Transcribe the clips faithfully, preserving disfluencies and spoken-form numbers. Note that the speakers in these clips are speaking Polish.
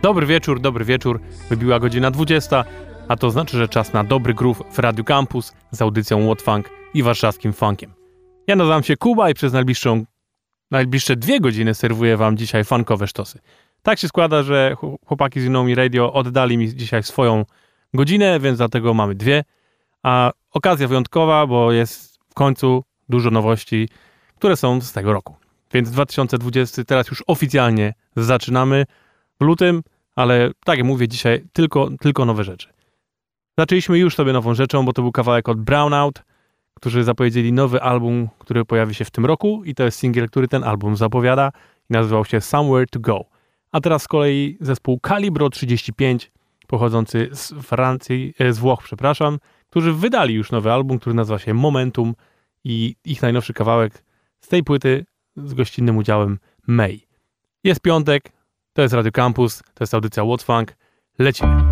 Dobry wieczór, dobry wieczór. Wybiła godzina dwudziesta, a to znaczy, że czas na dobry groove w Radiu Campus z audycją What Funk i warszawskim funkiem. Ja nazywam się Kuba i przez najbliższą, najbliższe dwie godziny serwuję wam dzisiaj funkowe sztosy. Tak się składa, że chłopaki z Inomi Radio oddali mi dzisiaj swoją godzinę, więc dlatego mamy dwie. A okazja wyjątkowa, bo jest w końcu dużo nowości, które są z tego roku. Więc dwa tysiące dwudziesty teraz już oficjalnie zaczynamy w lutym, ale tak jak mówię dzisiaj, tylko, tylko nowe rzeczy. Zaczęliśmy już sobie nową rzeczą, bo to był kawałek od Brownout, którzy zapowiedzieli nowy album, który pojawi się w tym roku i to jest singiel, który ten album zapowiada i nazywał się Somewhere to Go. A teraz z kolei zespół Calibro trzydzieści pięć, pochodzący z Francji, z Włoch, przepraszam, którzy wydali już nowy album, który nazywa się Momentum i ich najnowszy kawałek z tej płyty z gościnnym udziałem May. Jest piątek, to jest Radio Campus, to jest audycja What Funk, lecimy.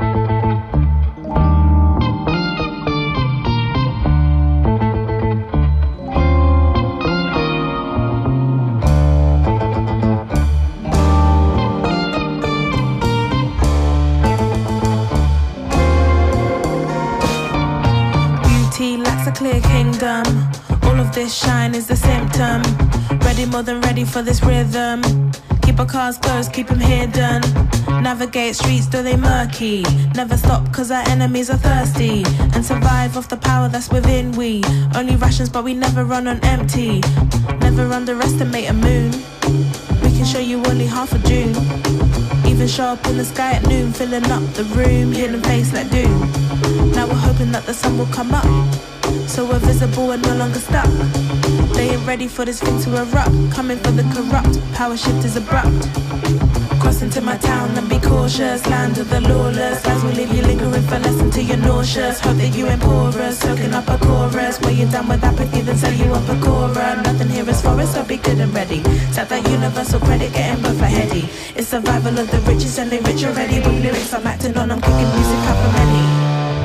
A clear kingdom. All of this shine is the symptom. Ready, more than ready for this rhythm. Keep our cars closed, keep them hidden. Navigate streets though they murky. Never stop cause our enemies are thirsty. And survive off the power that's within we. Only rations but we never run on empty. Never underestimate a moon. We can show you only half of June. Even show up in the sky at noon, filling up the room, hidden face like doom. Now we're hoping that the sun will come up, so we're visible and no longer stuck. They ain't ready for this thing to erupt. Coming for the corrupt, power shift is abrupt. Cross into my town and be cautious. Land of the lawless, lies will leave you lingering for less until you're nauseous. Hope that you ain't porous, soaking up a chorus. Where you're done with apathy, then sell you up a cora. Nothing here is for us, so be good and ready. Set that universal credit, getting both a heady. It's survival of the richest and they rich already. With lyrics I'm acting on, I'm kicking music up for many.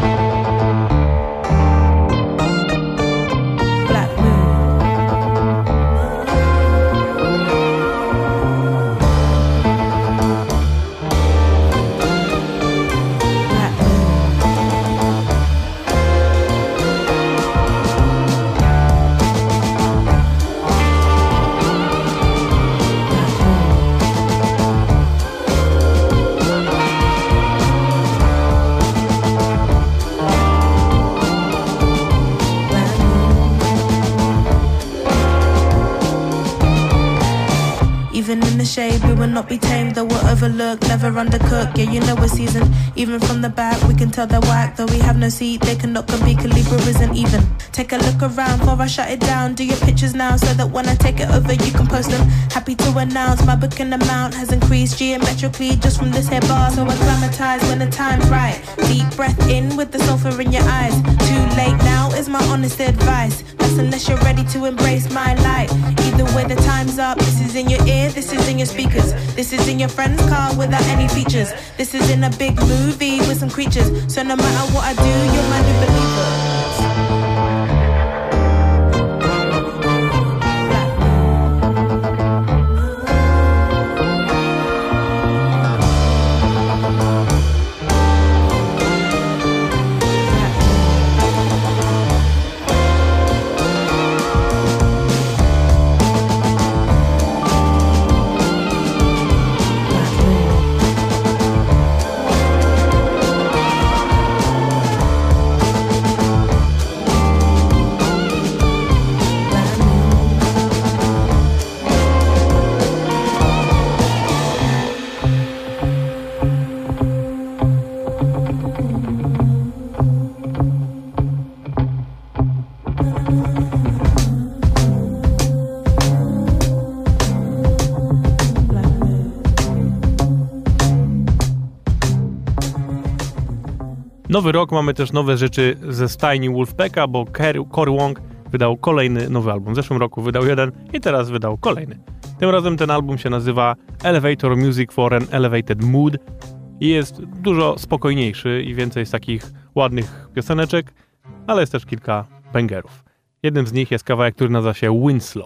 Shade, we will not be tamed, though we're overlooked, never undercooked. Yeah, you know we're seasoned. Even from the back, we can tell they're whack. Though we have no seat, they cannot compete. Calibra isn't even. Take a look around before I shut it down. Do your pictures now, so that when I take it over, you can post them. Happy to announce my booking amount has increased geometrically just from this here bar. So acclimatise when the time's right. Deep breath in with the sulfur in your eyes. Too late now is my honest advice. That's unless you're ready to embrace my light. Either way, the time's up. This is in your ear, this is in your speakers. This is in your friend's car without any features. This is in a big movie with some creatures. So no matter what I do, you're my new believer. Nowy rok, mamy też nowe rzeczy ze stajni Wolfpacka, bo Cory Wong wydał kolejny nowy album. W zeszłym roku wydał jeden i teraz wydał kolejny. Tym razem ten album się nazywa Elevator Music for an Elevated Mood i jest dużo spokojniejszy i więcej jest takich ładnych pioseneczek, ale jest też kilka bangerów. Jednym z nich jest kawałek, który nazywa się Winslow.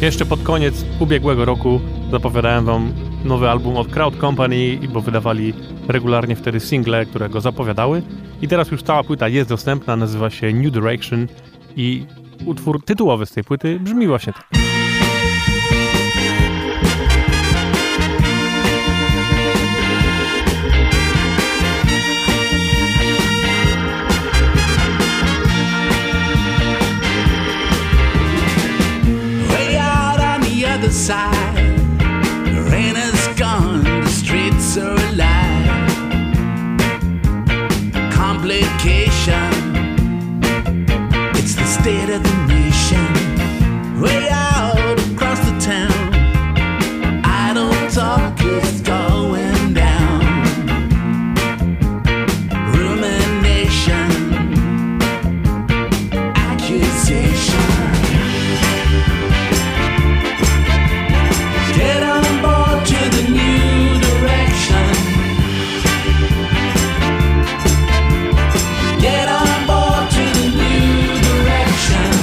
Jeszcze pod koniec ubiegłego roku zapowiadałem wam nowy album od Crowd Company, bo wydawali regularnie wtedy single, które go zapowiadały. I teraz już cała płyta jest dostępna, nazywa się New Direction i utwór tytułowy z tej płyty brzmi właśnie tak. Side, the rain has gone, the streets are alive. Complication, it's the state of the nation. Way out across the town, idle talk is going down. Rumination, accusation. Get on board to the new direction. Get on board to the new direction.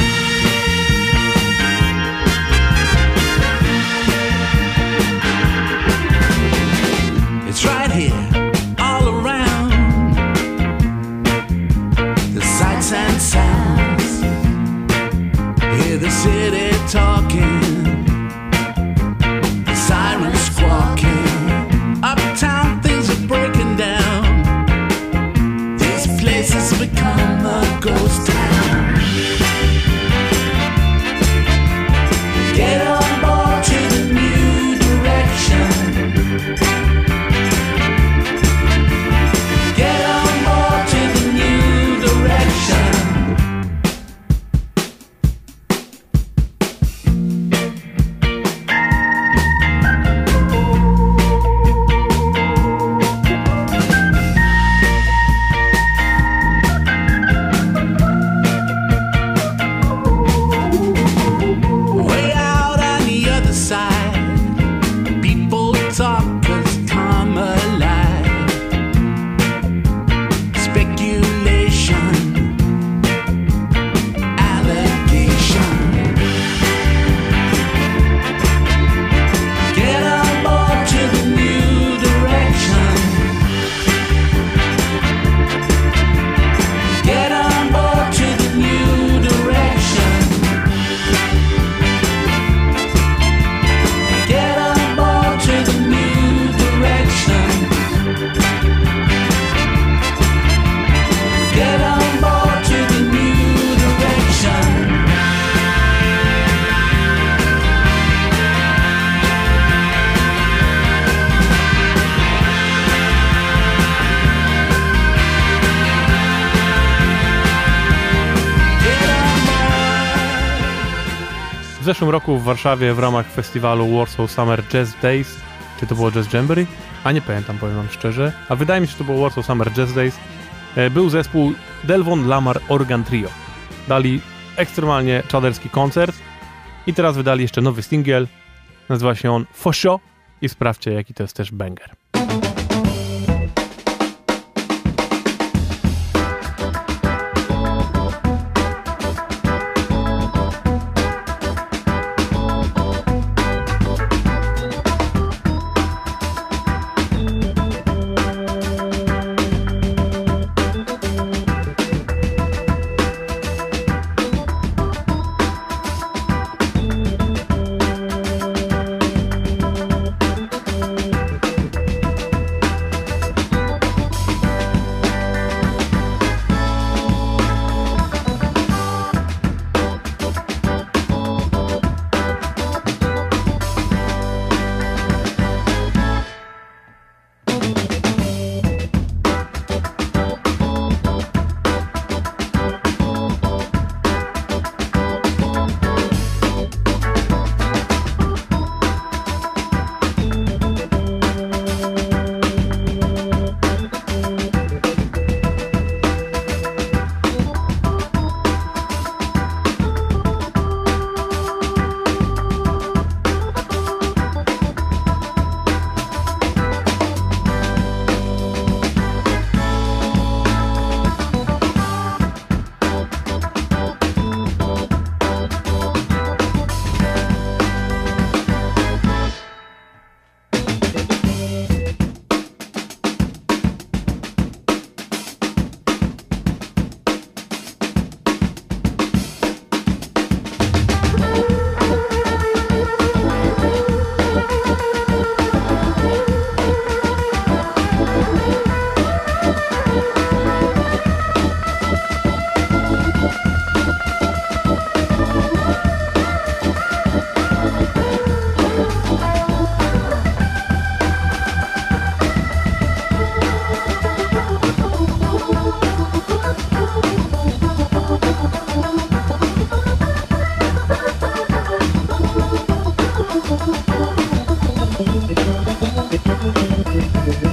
It's right here, all around. The sights and sounds. Hear the city talking. Sirens squawking. Uptown things are breaking down. This place has become a ghost town. Get on board to the new direction. Get on board to the new direction. W zeszłym roku w Warszawie w ramach festiwalu Warsaw Summer Jazz Days, czy to było Jazz Jamboree? A nie pamiętam, powiem wam szczerze. A wydaje mi się, że to było Warsaw Summer Jazz Days. Był zespół Delvon Lamar Organ Trio. Dali ekstremalnie czaderski koncert i teraz wydali jeszcze nowy singiel. Nazywa się on Fosho i sprawdźcie, jaki to jest też banger.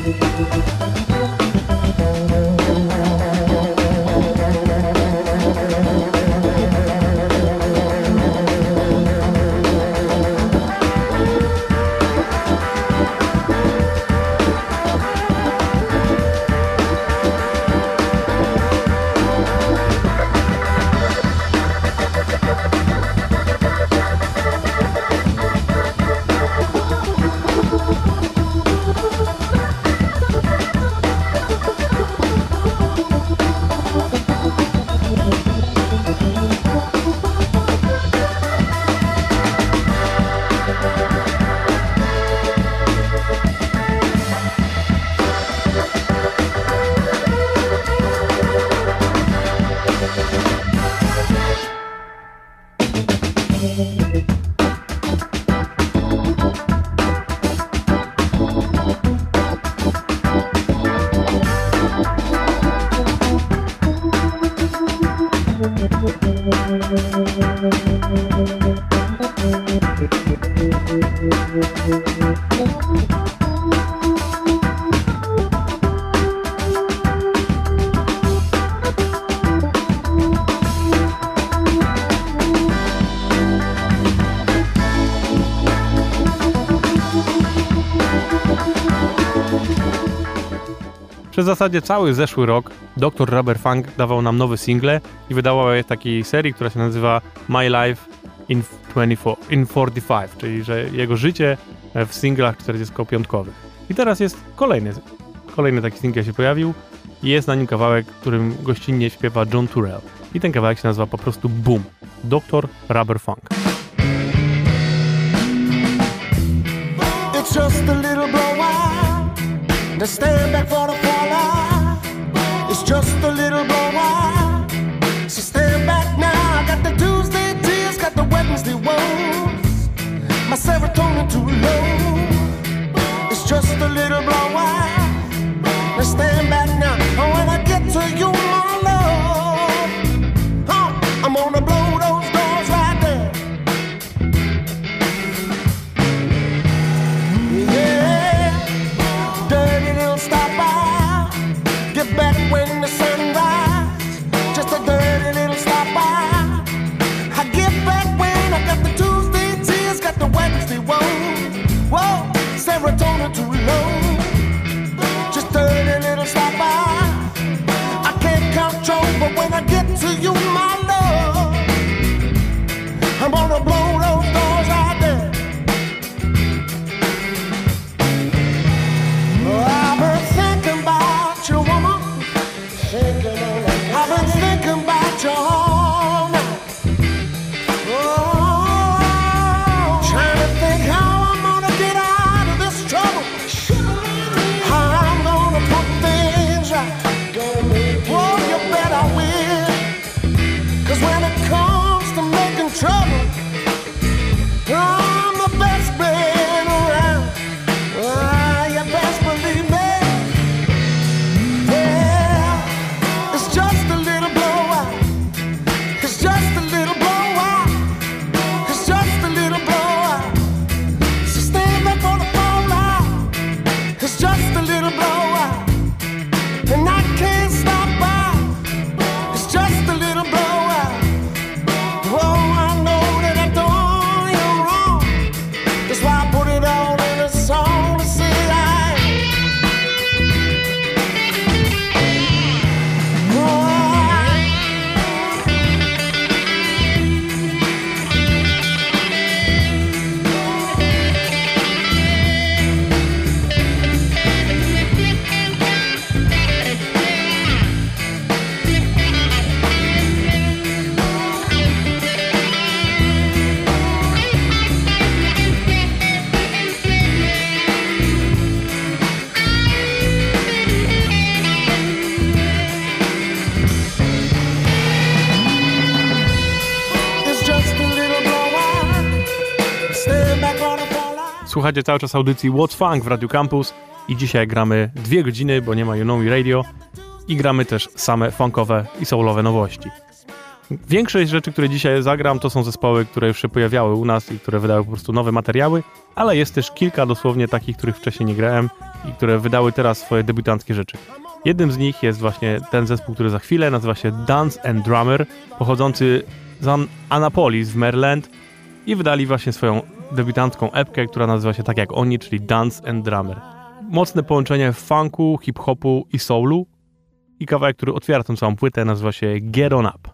Przez w zasadzie cały zeszły rok doktor Rubber Funk dawał nam nowe single i wydawał je w takiej serii, która się nazywa My Life in, in czterdzieści pięć, czyli że jego życie w singlach czterdziestopięciowych. I teraz jest kolejny, kolejny taki singiel się pojawił i jest na nim kawałek, którym gościnnie śpiewa John Turrell. I ten kawałek się nazywa po prostu Boom. doktor Rubber Funk. It's just a little blowout to stand back for the fallout. It's just a little blowout, so stand back now. I got the Tuesday tears, got the Wednesday woes. My serotonin too low. It's just a little blowout. Now stand back now. Oh, when I get to you, my love, oh, I'm gonna blow those doors right there. Yeah, dirty little stop by. Get back when the sun rises. Just a dirty little stop by. I get back when I got the Tuesday tears, got the Wednesday woes. Whoa, serotonin too low. Just dirty little stop by. I can't control, but when I get to you, my love, I'm gonna blow those doors out there. Oh, I've been thinking about you, woman. I've been thinking about you all night. Oh, trying to think how I'm gonna get out of this trouble. How I'm gonna put things right. Oh, you bet I will. 'Cause when it comes to making trouble, I'm the best man around. Ah, you best believe me. Yeah, it's just a little blowout. It's just a little blowout. It's just a little blowout. So stand back for the fallout. It's just a little blowout. And I can't stop by. It's just a little blowout. Oh, I know that I've done you wrong. That's why I put it all in a song to say I it's just a little blowout. Stand back on the fallout. Słuchacie cały czas audycji What's Funk w Radio Campus i dzisiaj gramy dwie godziny, bo nie ma You Know Me Radio i gramy też same funkowe i soulowe nowości. Większość rzeczy, które dzisiaj zagram, to są zespoły, które już się pojawiały u nas i które wydały po prostu nowe materiały, ale jest też kilka dosłownie takich, których wcześniej nie grałem i które wydały teraz swoje debiutanckie rzeczy. Jednym z nich jest właśnie ten zespół, który za chwilę nazywa się Dance and Drummer, pochodzący z Annapolis w Maryland i wydali właśnie swoją debiutancką epkę, która nazywa się tak jak oni, czyli Dance and Drummer. Mocne połączenie funku, hip-hopu i soulu i kawałek, który otwiera tę całą płytę, nazywa się Get On Up.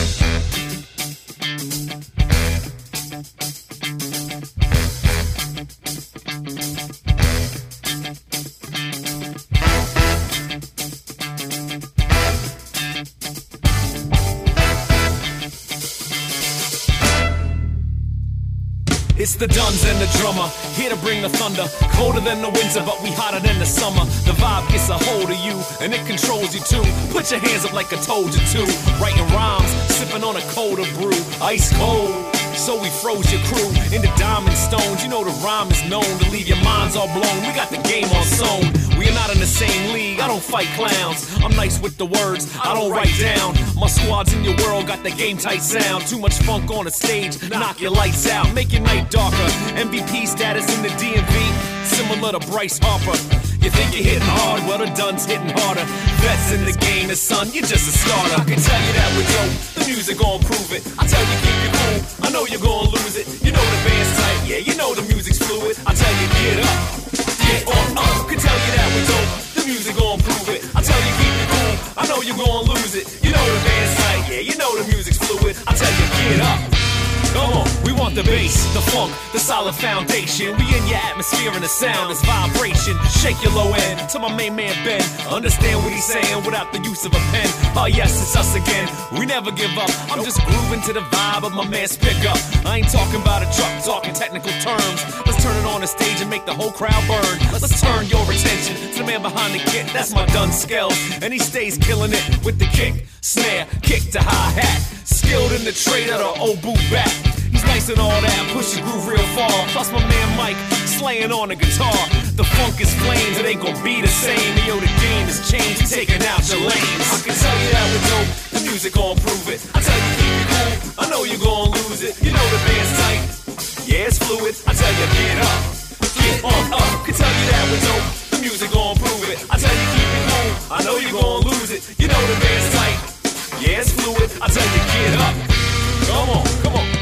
It's the Duns and the drummer, here to bring the thunder. Colder than the winter, but we hotter than the summer. The vibe gets a hold of you, and it controls you too. Put your hands up like I told you to. Writing rhymes, sipping on a colder brew. Ice cold, so we froze your crew into diamond stones. You know the rhyme is known to leave your minds all blown. We got the game on sewn. We are not in the same league, I don't fight clowns. I'm nice with the words, I don't write down. My squad's in your world, got the game tight sound. Too much funk on the stage, knock your lights out. Make your night darker, M V P status in the D M V, similar to Bryce Harper. You think you're hitting hard, well the Duns hitting harder. Vets in the game, the son, you're just a starter. I can tell you that we're dope, the music gon' prove it. I tell you keep it cool, I know you're gon' lose it. You know the band's tight, yeah, you know the music's fluid. I tell you get up, get on up. Can tell you that we're dope, the music gon' prove it. I tell you keep it cool, I know you're gon' lose it. You know the band's tight, yeah, you know the music's fluid. I tell you get up. Come on, we want the bass, the funk, the solid foundation. We in your atmosphere and the sound is vibration. Shake your low end to my main man Ben. Understand what he's saying without the use of a pen. Oh yes, it's us again. We never give up. I'm just grooving to the vibe of my man's pickup. I ain't talking about a truck, talking technical terms. Let's turn it on the stage and make the whole crowd burn. Let's turn your attention to the man behind the kit. That's my Dun Skels, and he stays killing it with the kick, snare, kick to hi-hat. Skilled in the trade of the old boot back. He's nice and all that, push the groove real far. Plus my man Mike, slaying on the guitar. The funk is flames, it ain't gonna be the same. Yo, the game has changed, taking out your lanes. I can tell you that we're dope, the music gon' prove it. I tell you keep it cool, I know you're gon' lose it. You know the band's tight, yeah it's fluid. I tell you get up, get on up. Can tell you that we're dope, the music gon' prove it. I tell you keep it cool, I know you're gon' lose it. You know the band's tight, yeah it's fluid. I tell you get up, come on, come on.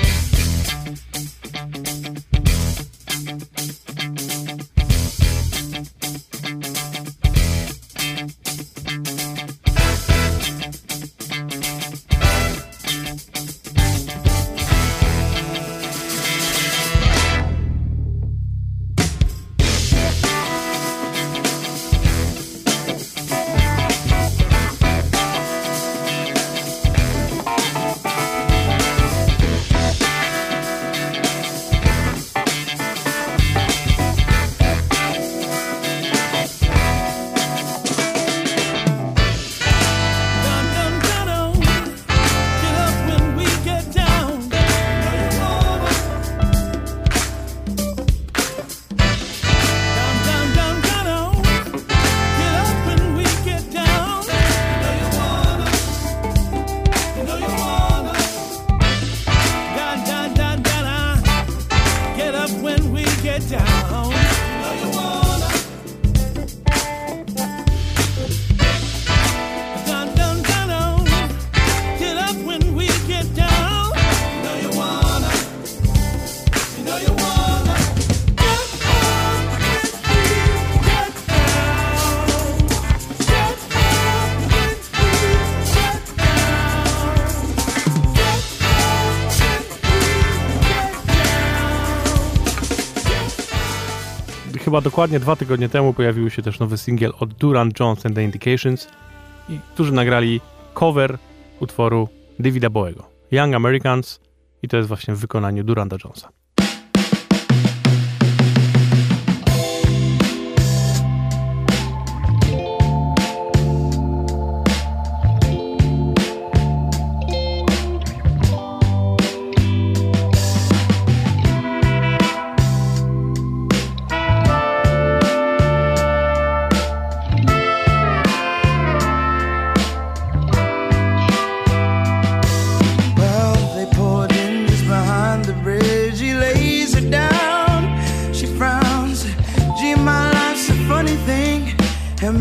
Chyba dokładnie dwa tygodnie temu pojawił się też nowy singiel od Duran Jones and the Indications, i którzy nagrali cover utworu Davida Bowiego, Young Americans, i to jest właśnie w wykonaniu Duranta Jonesa.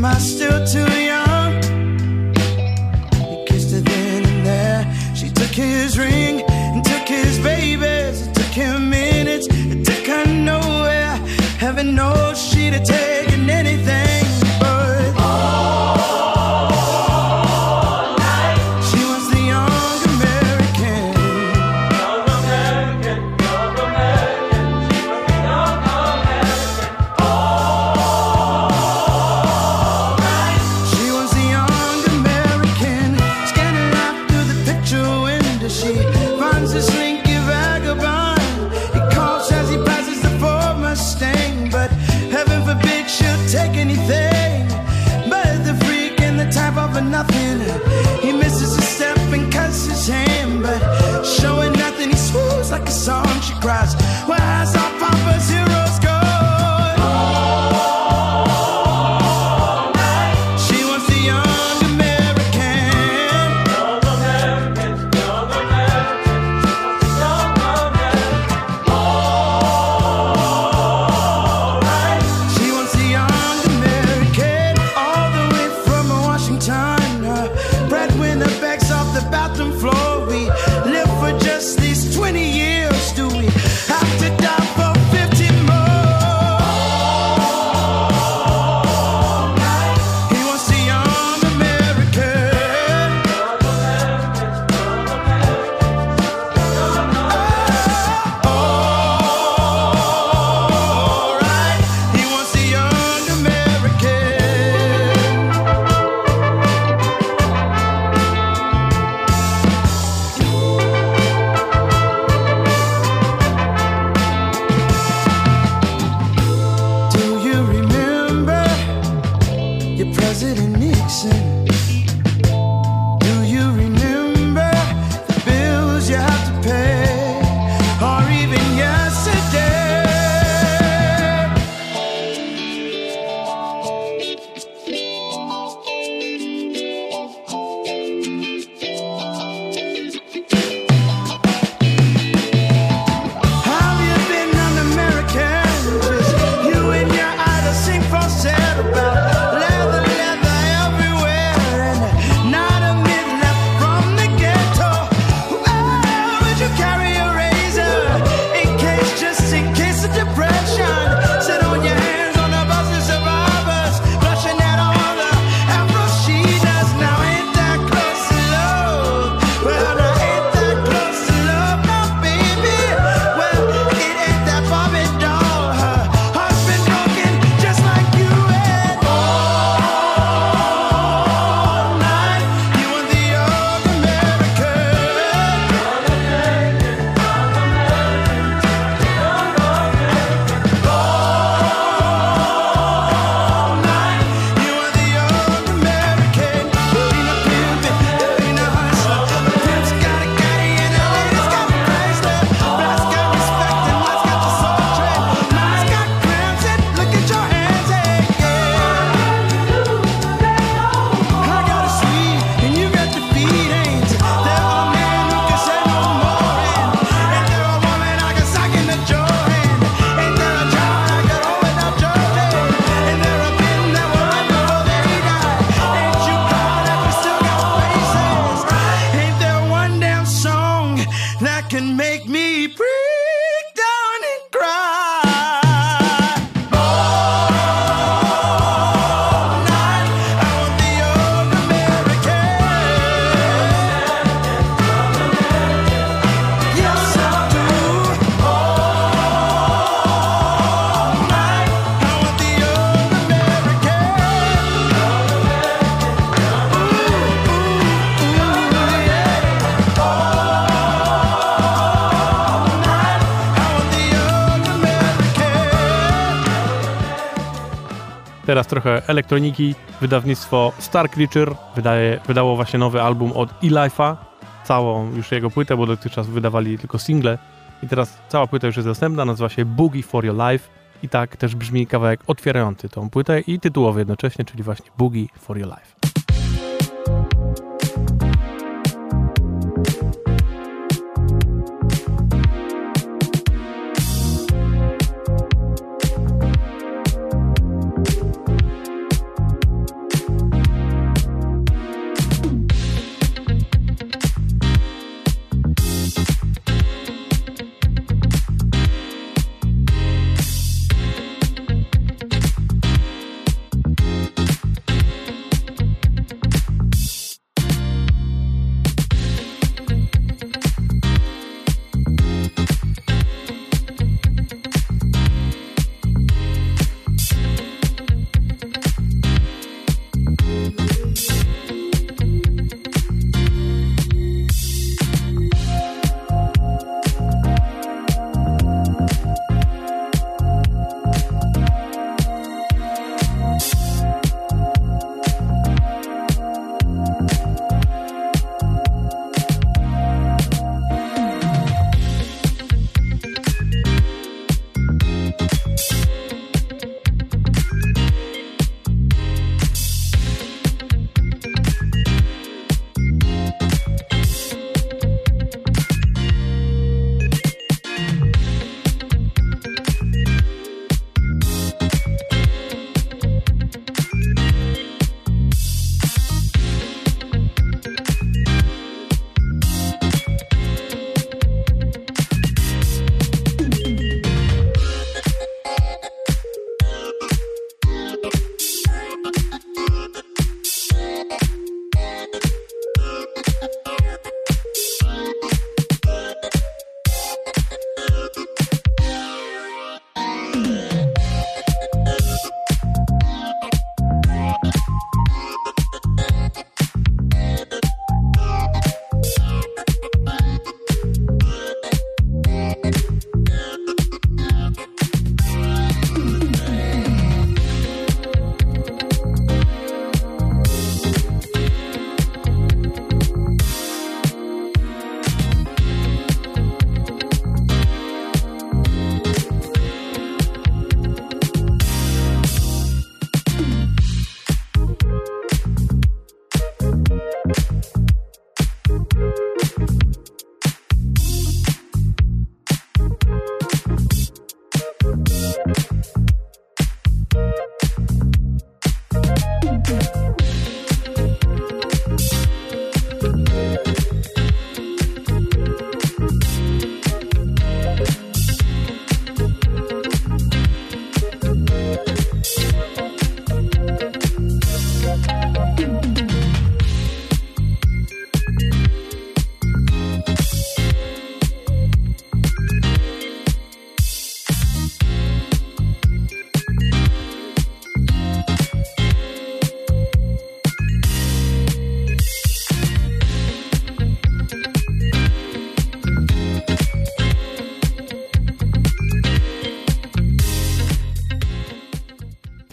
I still too young? He kissed her then and there. She took his ring and took his babies. It took him minutes, it took her nowhere. Heaven knows she'd have taken anything, but all night she was the young American. Young American, young American. She was the young American. All night she was the young American. Scanning life through the picture window, she finds this slinky vagabond. He calls as he passes the Ford Mustang, but heaven forbid she'll take anything but the freak and the type of a nothing. He misses a step and cuts his hand, but showing nothing, he swoons like a song. She cries, where has our Papa's heroes gone? All night she was the young American. Young American, young American. She was the young American. All night she was the young American. All the way from Washington, her breadwinner begs off the bathroom floor. We live for just these twenty years. Do we have to die for fifty more? All night he was the young American. Young American, young American. All right, he was the young American. Do you remember your President Nixon? Do you remember the bills you have to pay? Or even yesterday? Have you been un-American? Just you and your idol sing falsetto about leather, leather everywhere, and not a minute left from the ghetto. Well, would you carry a razor in case, just in case of depression? Sit on your hands on the bus of survivors, blushing at all the afro she does. Now ain't that close to love? Well, now ain't that close to love, now baby? Well, it ain't that Barbie doll. Her heart's been broken just like you and all night. You were the young American. Young American, young American, young American. All night, you were the young American. You ain't a pimp, you ain't a hustler. A pimp's got a caddy and a lady's got a Chrysler. Black's got respect and white's got your soul train. Mine's got crimson, look at your hands, hey, yeah. I got a sweet and you got the beat, ain't there? There are men who can say no more, and ain't there a woman I can sock in the jaw, and ain't there a child I could hold without Georgie, and there are men that were right before they died. Ain't you proud that we still got faces? Ain't there one damn song that can make me break down and cry? All night, I want the young American. Yes, I do. All night, I want the young American. Ooh, ooh, ooh, yeah. All night, I want the young American. Teraz trochę elektroniki. Wydawnictwo Star Creature wydaje, wydało właśnie nowy album od E-Life'a. Całą już jego płytę, bo dotychczas wydawali tylko single. I teraz cała płyta już jest dostępna, nazywa się Boogie for Your Life. I tak też brzmi kawałek otwierający tą płytę i tytułowy jednocześnie, czyli właśnie Boogie for Your Life.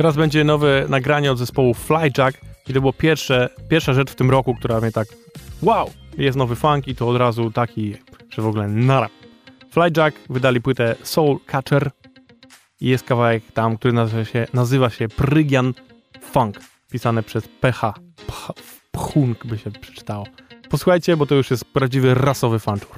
Teraz będzie nowe nagranie od zespołu Flyjack i to było pierwsze, pierwsza rzecz w tym roku, która mnie tak wow, jest nowy funk i to od razu taki, że w ogóle nara. Flyjack wydali płytę Soul Catcher i jest kawałek tam, który nazywa się, nazywa się Prygian Funk, pisane przez P H. Pchunk by się przeczytało. Posłuchajcie, bo to już jest prawdziwy rasowy fanczur.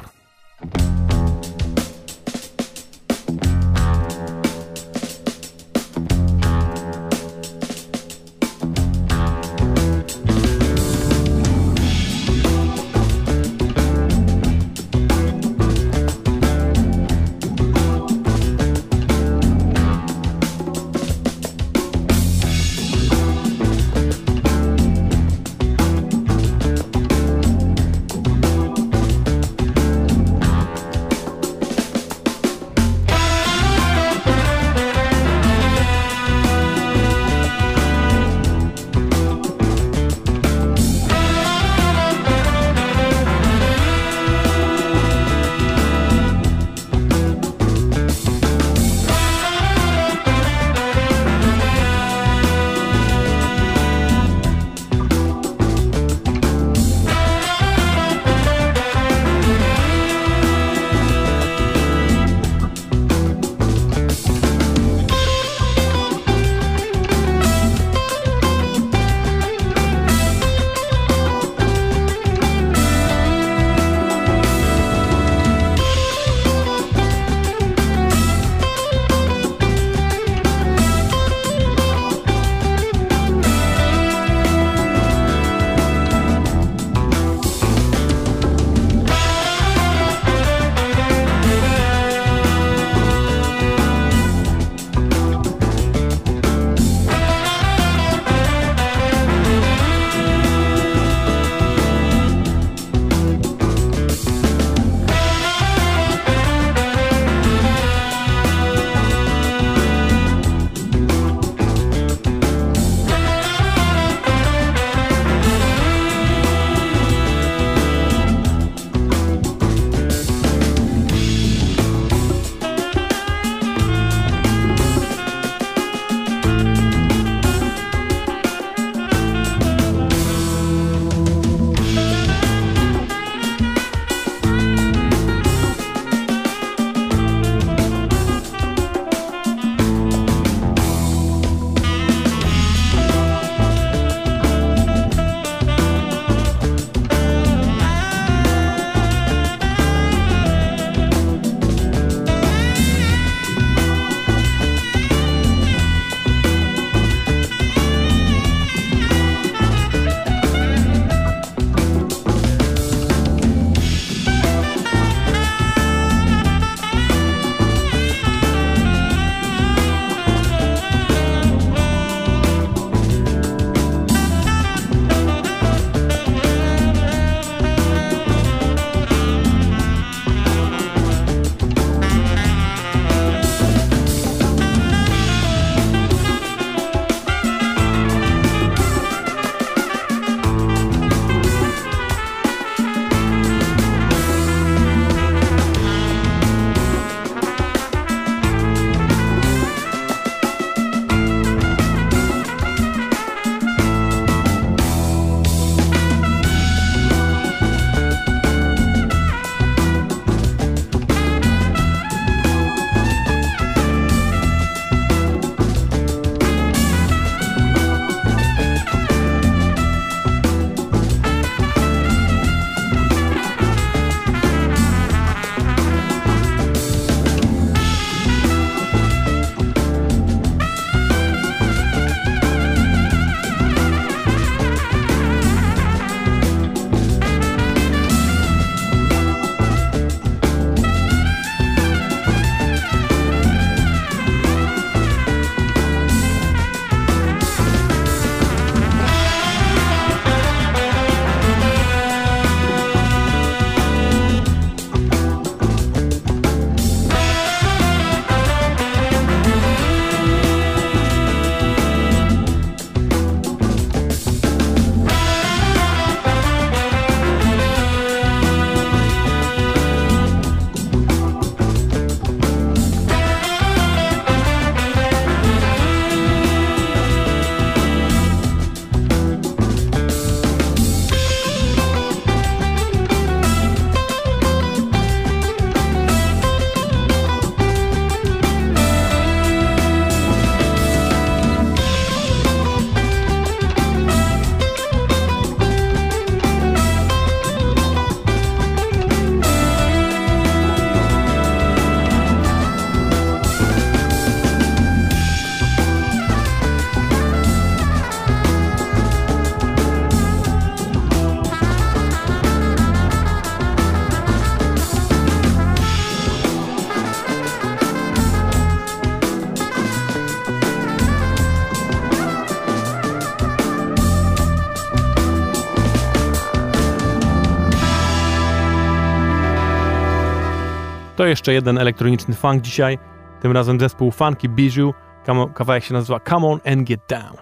To jeszcze jeden elektroniczny funk dzisiaj, tym razem zespół Funky Bijou, kawałek się nazywa Come On and Get Down.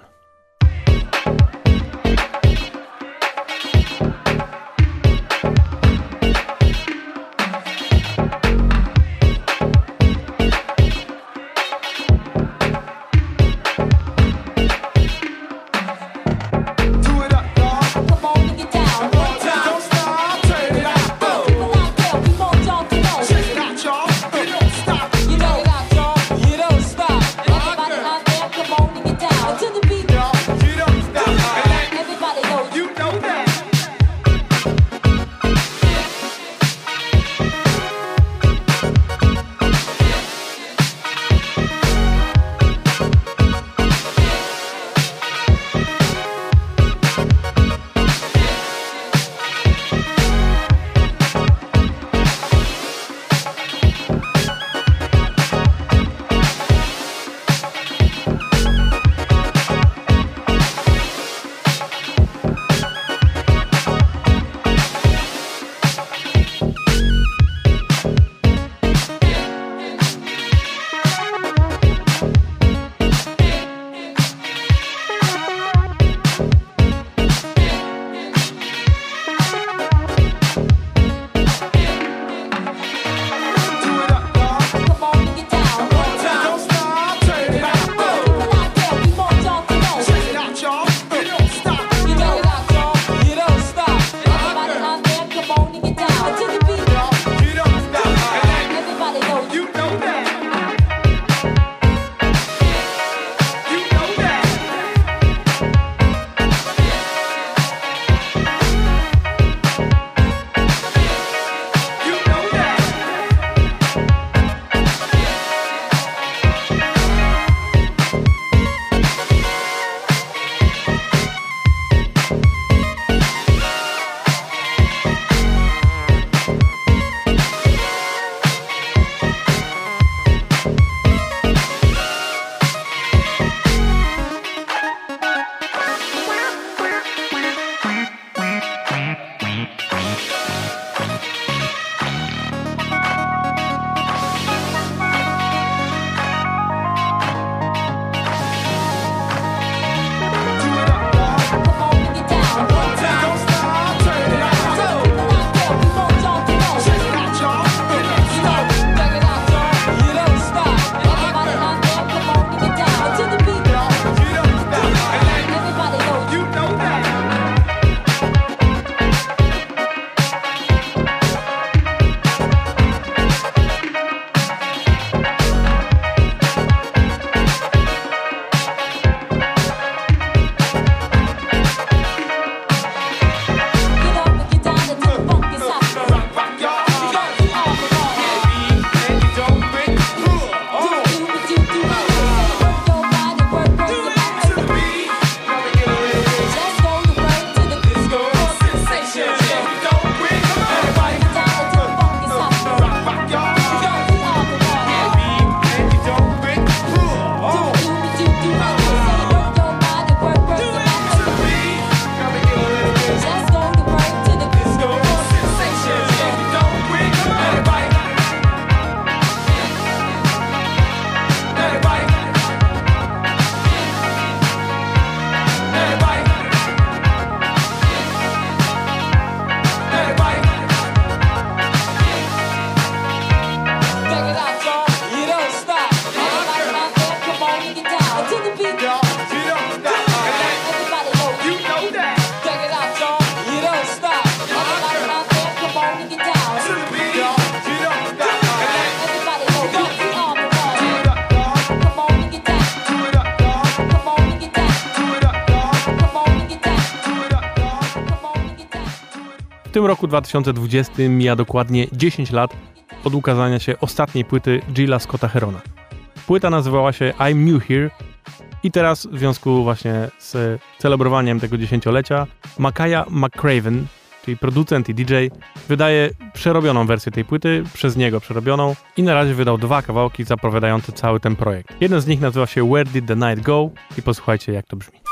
W tym roku dwa tysiące dwudziestym mija dokładnie dziesięć lat od ukazania się ostatniej płyty Gilla Scotta Herona. Płyta nazywała się I'm New Here i teraz w związku właśnie z celebrowaniem tego dziesięciolecia Makaya McCraven, czyli producent i D J, wydaje przerobioną wersję tej płyty, przez niego przerobioną i na razie wydał dwa kawałki zapowiadające cały ten projekt. Jeden z nich nazywa się Where Did the Night Go i posłuchajcie jak to brzmi.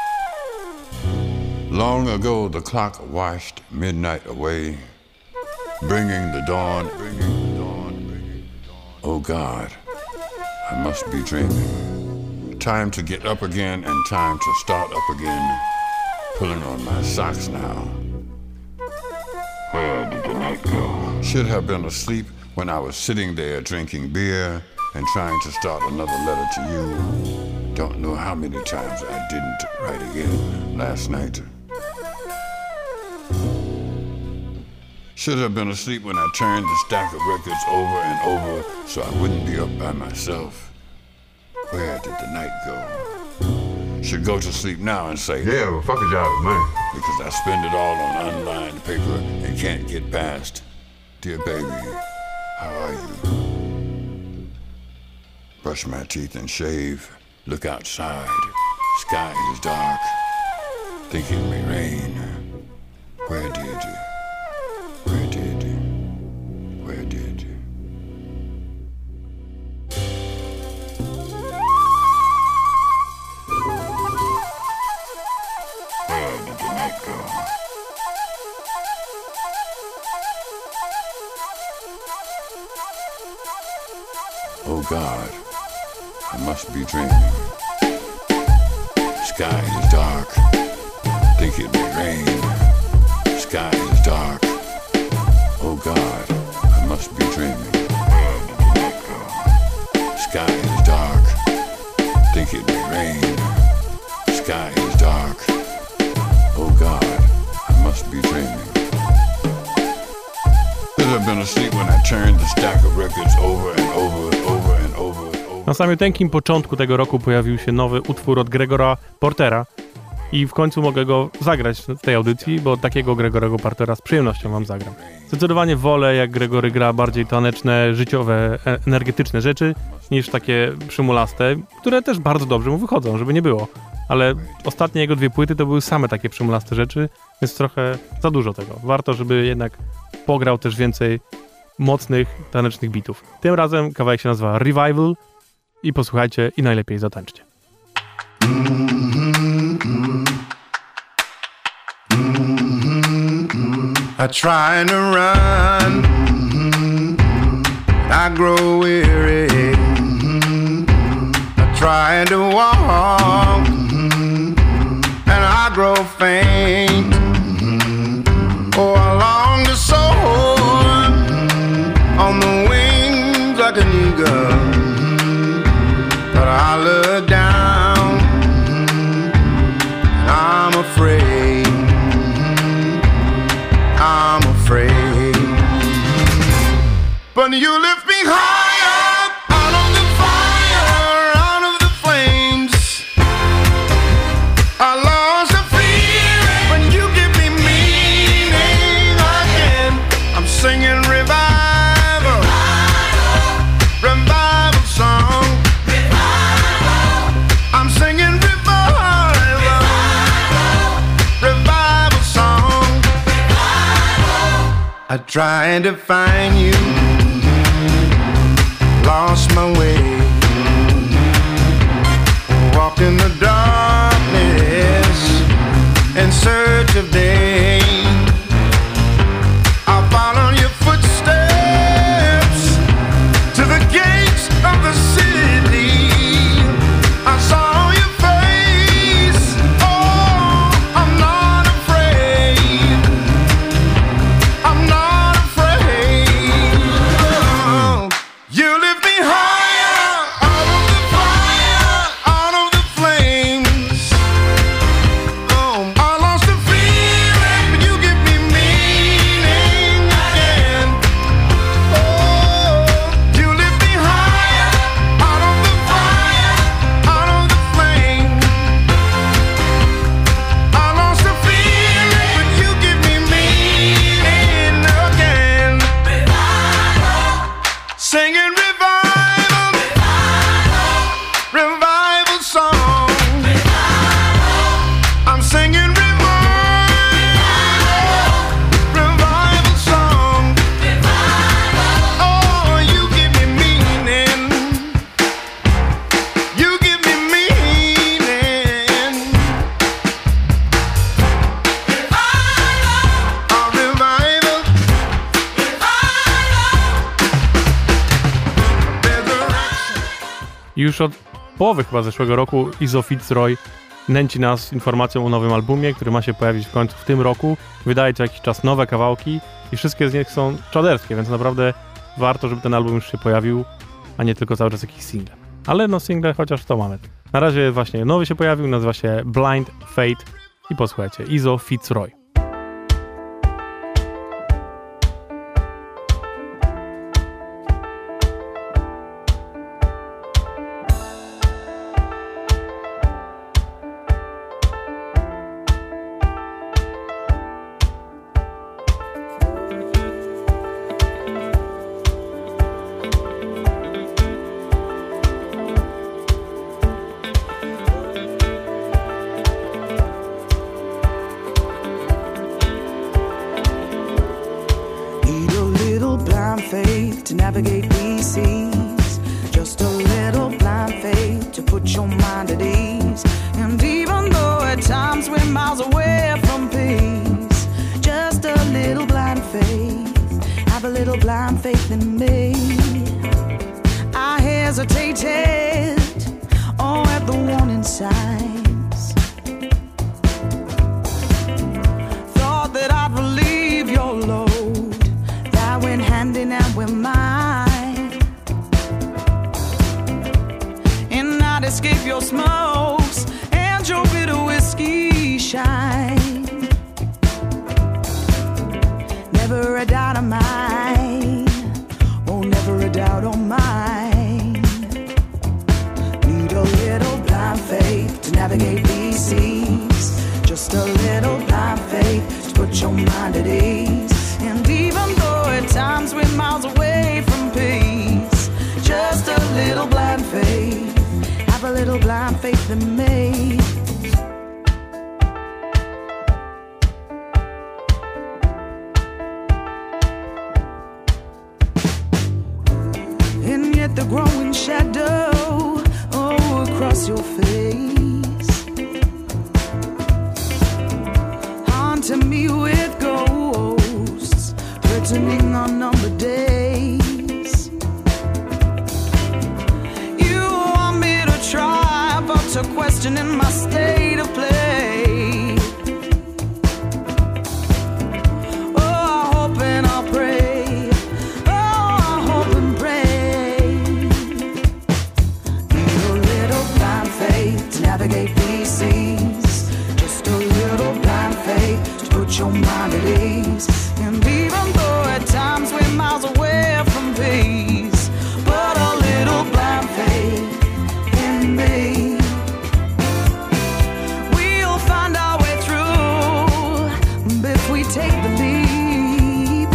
Long ago the clock washed midnight away. bringing the dawn, bringing the dawn, bringing the dawn. Oh God, I must be dreaming. Time to get up again and time to start up again. Pulling on my socks now. Where did the night go? Should have been asleep when I was sitting there drinking beer and trying to start another letter to you. Don't know how many times I didn't write again last night. Should have been asleep when I turned the stack of records over and over so I wouldn't be up by myself. Where did the night go? Should go to sleep now and say, yeah, well, fuck a job, man. Because I spend it all on unlined paper and can't get past. Dear baby, how are you? Brush my teeth and shave. Look outside. Sky is dark. Think it may rain. Where did you? Where did you? Where did you? Where did the night go? Oh God, I must be dreaming. Sky is dark. Think it may rain. Sky is dark. Oh God, I must be dreaming. Where did the night go? Sky is dark. Think it may rain. Sky is dark. Oh God, I must be dreaming. Should have been asleep when I turned the stack of records over and over and over and over and over. Na samym początku tego roku pojawił się nowy utwór od Gregora Portera i w końcu mogę go zagrać w tej audycji, bo takiego Gregorego Portera z przyjemnością wam zagram. Zdecydowanie wolę, jak Gregory gra bardziej taneczne, życiowe, energetyczne rzeczy, niż takie przymulaste, które też bardzo dobrze mu wychodzą, żeby nie było. Ale ostatnie jego dwie płyty to były same takie przymulaste rzeczy, więc trochę za dużo tego. Warto, żeby jednak pograł też więcej mocnych, tanecznych bitów. Tym razem kawałek się nazywa Revival i posłuchajcie i najlepiej zatańczcie. I try to run, I grow weary. I try to walk, and I grow faint. Oh, I long to soar on the wings like an eagle, but I look down, and I'm afraid. I'm afraid. But you lift me higher, out of the fire, out of the flames. I lost the fear when you give me meaning again. I'm singing revival, revival song. I'm singing revival, revival song. I tried to find you, lost my way, walked in the darkness in search of day. I followed your footsteps to the gates of the city. I saw your face. Oh, I'm not afraid. I'm not afraid. Oh, you lift me higher, out of the fire, out of the flames. Oh, I lost the feeling Już od połowy chyba zeszłego roku Izzo Fitzroy nęci nas informacją o nowym albumie, który ma się pojawić w końcu w tym roku. Wydaje co jakiś czas nowe kawałki i wszystkie z nich są czaderskie, więc naprawdę warto, żeby ten album już się pojawił, a nie tylko cały czas jakiś single. Ale no single chociaż to mamy. Na razie właśnie nowy się pojawił, nazywa się Blind Fate i posłuchajcie, Izzo Fitzroy. Faith to navigate these seas, just a little blind faith to put your mind at ease. And even though at times we're miles away from peace, just a little blind faith, have a little blind faith in me. I hesitated, oh, at the warning signs, thought that I'd relieve your load, went hand in hand with mine, and I'd escape your smokes and your bitter whiskey shine. Never a doubt of mine, oh, never a doubt of mine. Need a little blind faith to navigate these seas, just a little blind faith to put your mind at ease. And even though at times we're miles away from peace, just a little blind faith, have a little blind faith in me. And yet the growing shadow, oh, across your face, haunting me with ghosts, returning on number days. You want me to try, but to questioning my state of play. Oh, I hope and I pray, oh, I hope and pray. Need a little blind faith to navigate these seas, just a little blind faith to put your mind at ease. And even though at times we're miles away from peace, but a little blind faith in me. We'll find our way through if we take the leap.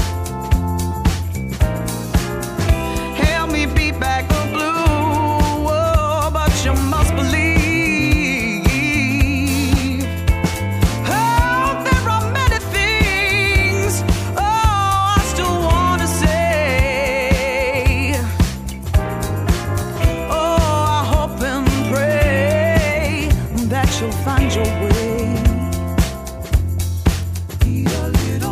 Help me beat back the blue, oh, but you must believe. Find your way. Need a little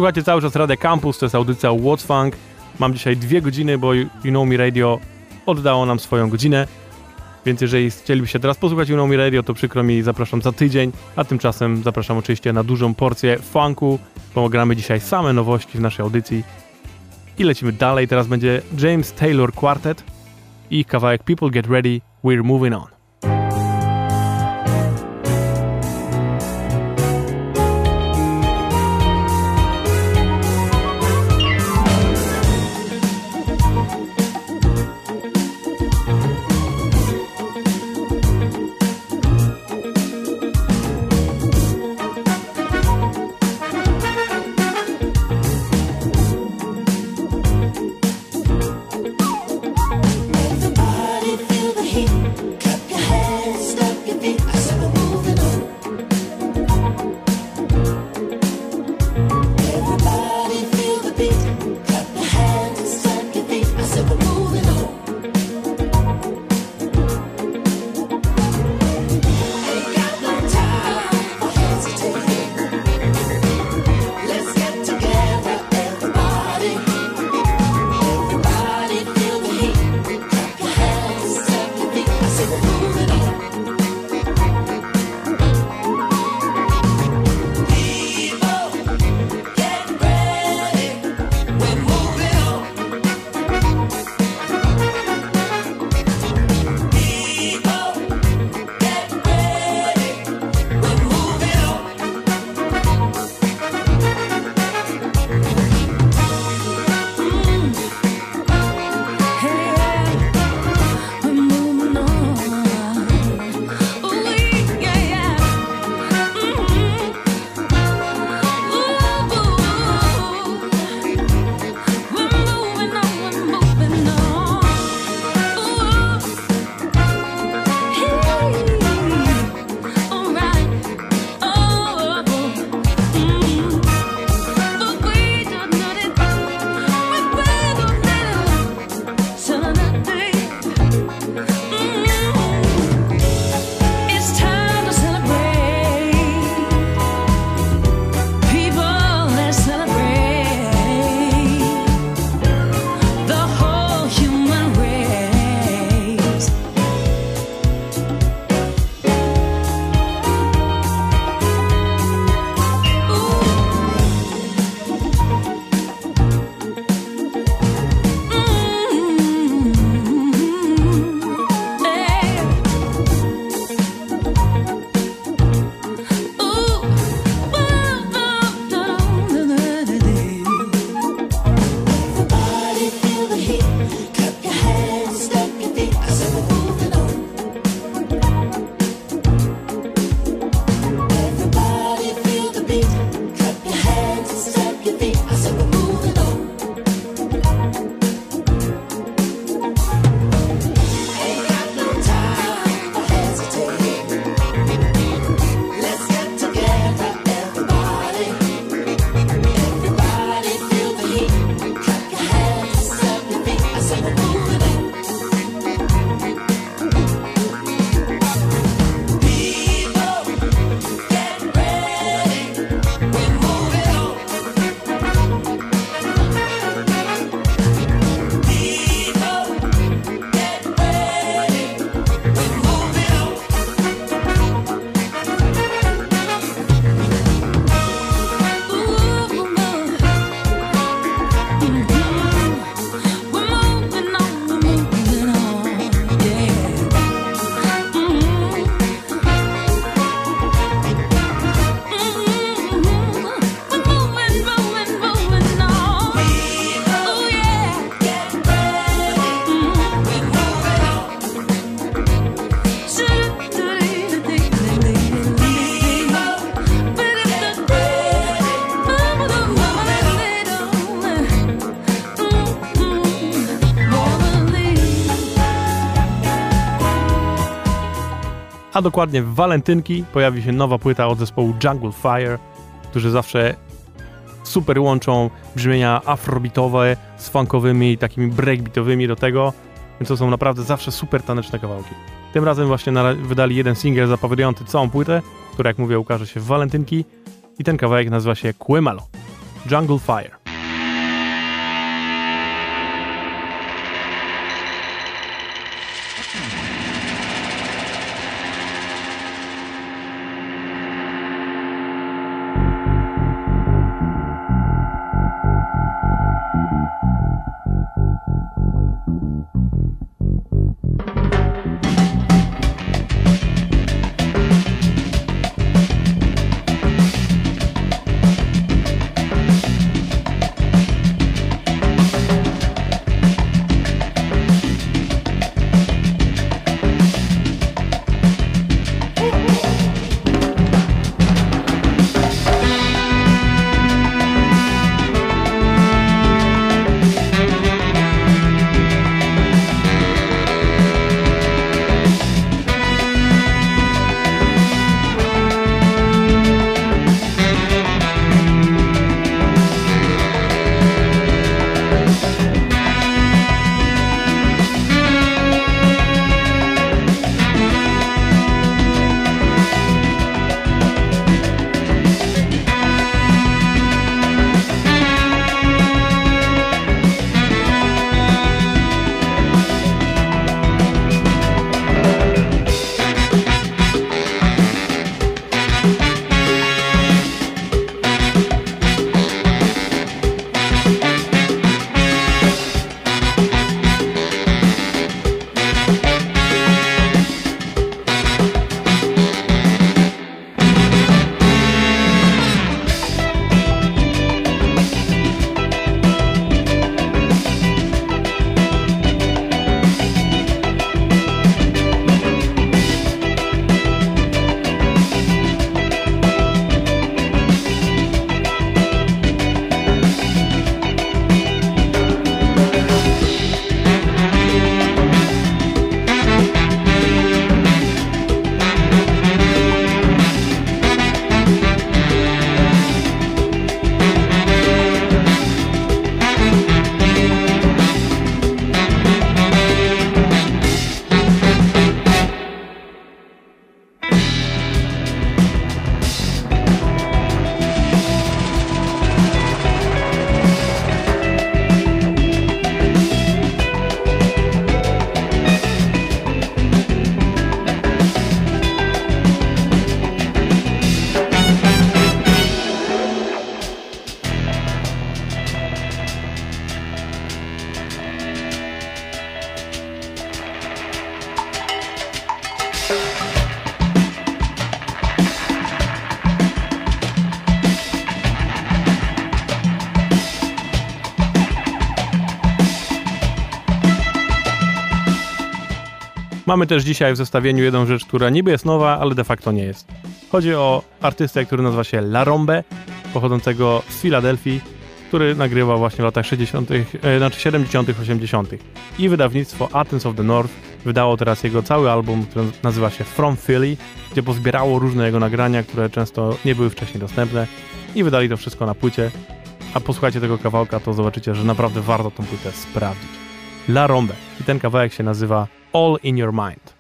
Słuchajcie cały czas Radia Campus, to jest audycja What's Funk. Mam dzisiaj dwie godziny, bo You Know Me Radio oddało nam swoją godzinę. Więc jeżeli chcielibyście teraz posłuchać You Know Me Radio, to przykro mi, zapraszam za tydzień. A tymczasem zapraszam oczywiście na dużą porcję funku, bo gramy dzisiaj same nowości w naszej audycji. I lecimy dalej. Teraz będzie James Taylor Quartet i ich kawałek People Get Ready, We're Moving On. a dokładnie w walentynki pojawi się nowa płyta od zespołu Jungle Fire, którzy zawsze super łączą brzmienia afrobitowe z funkowymi, takimi breakbeatowymi do tego, więc to są naprawdę zawsze super taneczne kawałki. Tym razem właśnie wydali jeden singiel zapowiadający całą płytę, która, jak mówię, ukaże się w walentynki i ten kawałek nazywa się Quemalo. Jungle Fire. Mamy też dzisiaj w zestawieniu jedną rzecz, która niby jest nowa, ale de facto nie jest. Chodzi o artystę, który nazywa się La Rombe, pochodzącego z Filadelfii, który nagrywał właśnie w latach sześćdziesiątych, e, znaczy siedemdziesiątych, osiemdziesiątych. I wydawnictwo Athens of the North wydało teraz jego cały album, który nazywa się From Philly, gdzie pozbierało różne jego nagrania, które często nie były wcześniej dostępne i wydali to wszystko na płycie. A posłuchajcie tego kawałka, to zobaczycie, że naprawdę warto tą płytę sprawdzić. La Rombe. I ten kawałek się nazywa All in Your Mind.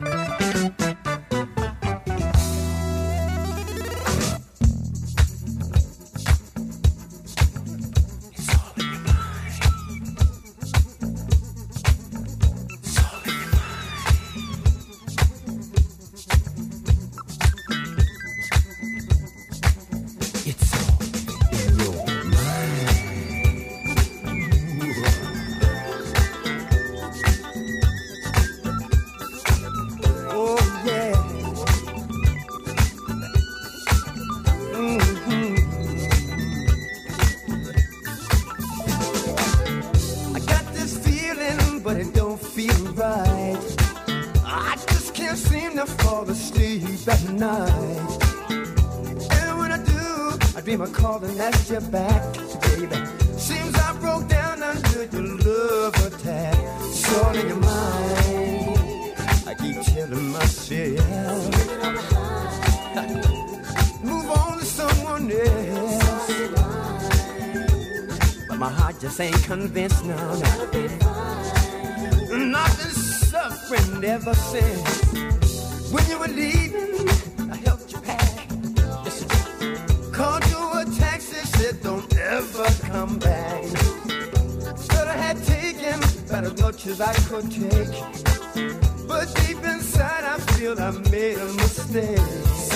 Convinced now, now. I've been suffering ever since. When you were leaving, I helped you pack. Listen, called you a taxi, said don't ever never come back. Should have had taken about as much as I could take, but deep inside I feel I made a mistake.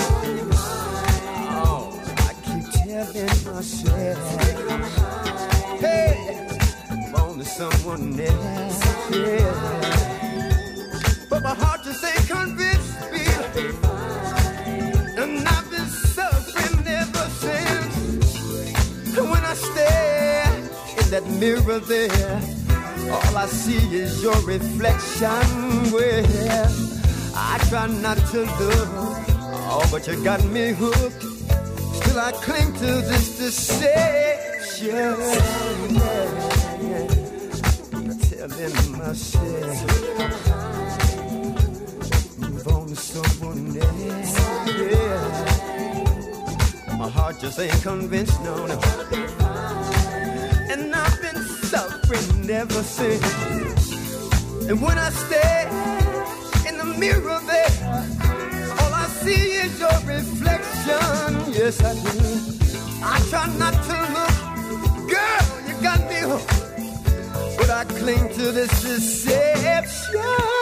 Oh, I keep telling myself, hey, I'm on to someone else, yeah. But my heart just ain't convinced me, and I've been suffering ever since. And when I stare in that mirror there, all I see is your reflection. Well, I try not to look, oh, but you got me hooked. Still I cling to this deception. I'm telling myself, move on to someone else. Yeah. My heart just ain't convinced, no, no. And I've been suffering ever since. And when I stare in the mirror there, all I see is your reflection. Yes, I do. I try not to look, girl, you got me hooked, but I cling to this deception.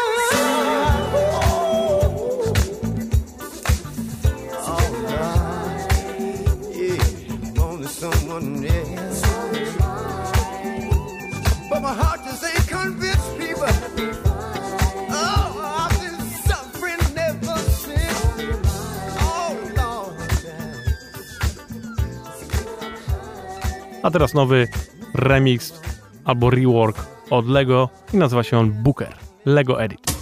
All right, yeah, on to someone else. But my heart just ain't convinced, people. Oh, I've been suffering ever since. Oh, Lord. A teraz nowy remix albo rework od Lego i nazywa się on Booker. Lego Edit.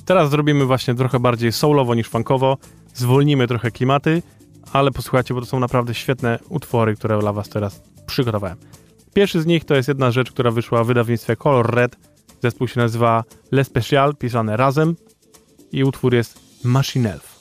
Teraz zrobimy właśnie trochę bardziej soulowo niż funkowo, zwolnimy trochę klimaty, ale posłuchajcie, bo to są naprawdę świetne utwory, które dla was teraz przygotowałem. Pierwszy z nich to jest jedna rzecz, która wyszła w wydawnictwie Color Red. Zespół się nazywa Le Special, pisane razem i utwór jest Machine Elf.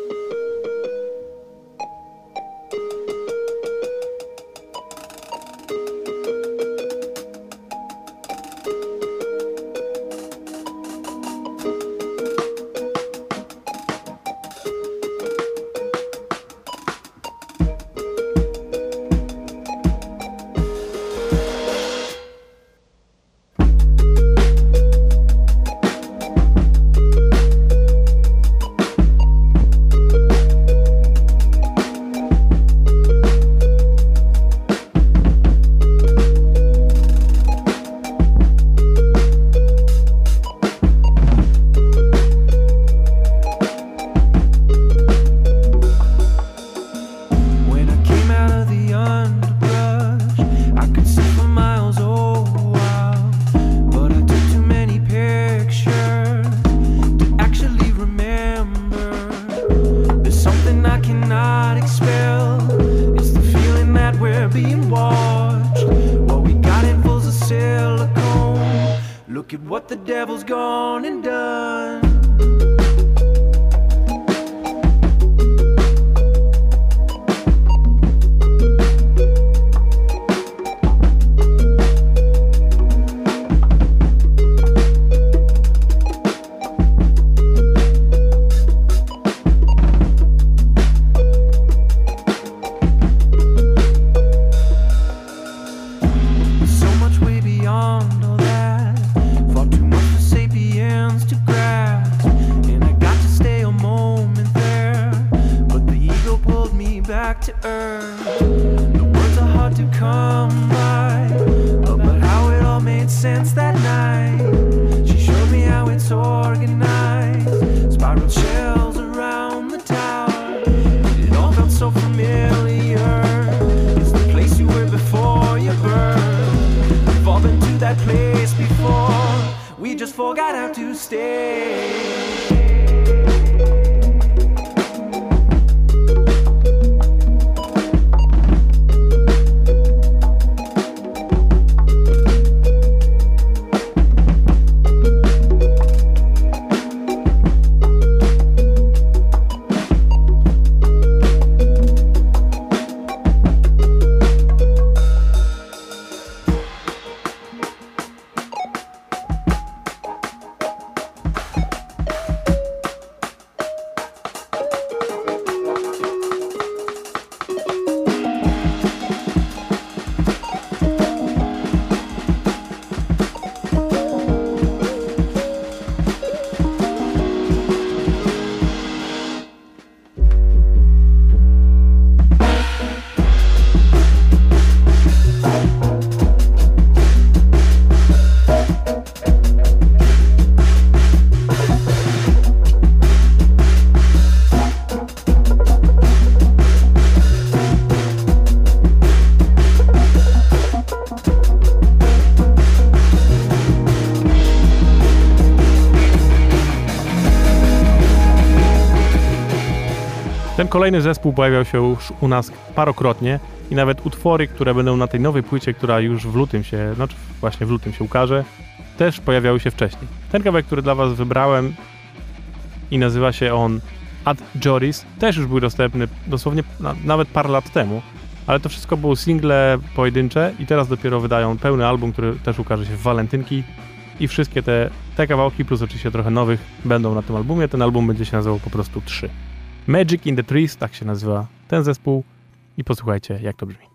Ten kolejny zespół pojawiał się już u nas parokrotnie i nawet utwory, które będą na tej nowej płycie, która już w lutym się, znaczy właśnie w lutym się ukaże, też pojawiały się wcześniej. Ten kawałek, który dla was wybrałem i nazywa się on Ad Joris, też już był dostępny dosłownie na, nawet parę lat temu, ale to wszystko było single pojedyncze i teraz dopiero wydają pełny album, który też ukaże się w walentynki i wszystkie te, te kawałki, plus oczywiście trochę nowych, będą na tym albumie. Ten album będzie się nazywał po prostu trzy. Magic in the Trees, tak się nazywa ten zespół i posłuchajcie, jak to brzmi.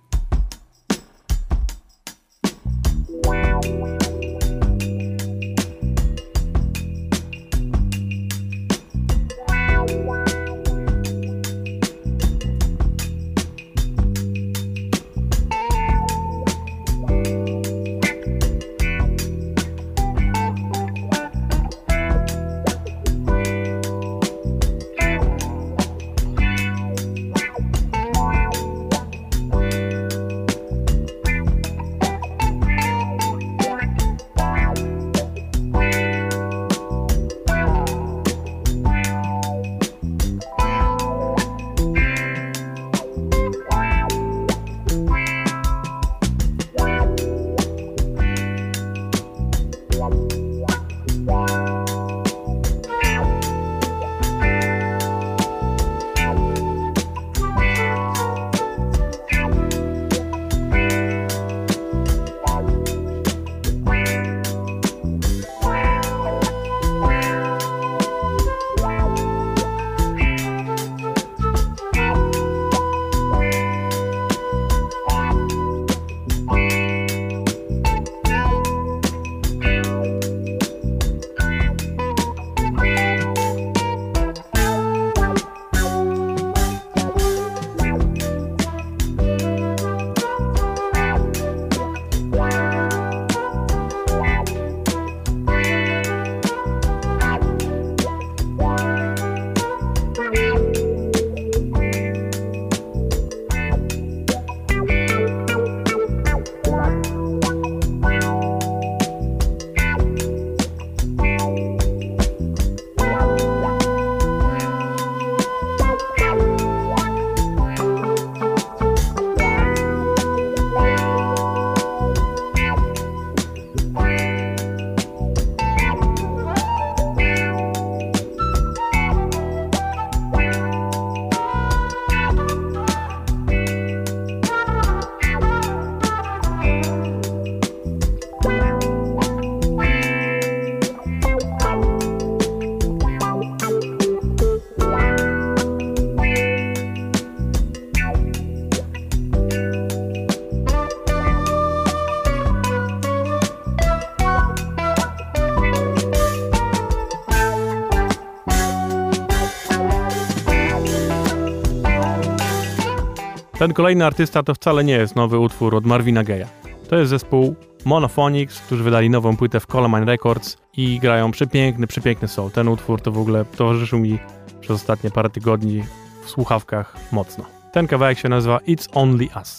Ten kolejny artysta to wcale nie jest nowy utwór od Marvina Gaye'a. To jest zespół Monophonics, którzy wydali nową płytę w Colemine Records i grają przepiękny, przepiękny soul. Ten utwór to w ogóle towarzyszył mi przez ostatnie parę tygodni w słuchawkach mocno. Ten kawałek się nazywa It's Only Us.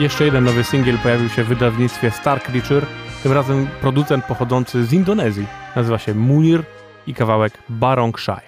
Jeszcze jeden nowy singiel pojawił się w wydawnictwie Star Creature, tym razem producent pochodzący z Indonezji. Nazywa się Munir i kawałek Barongsai.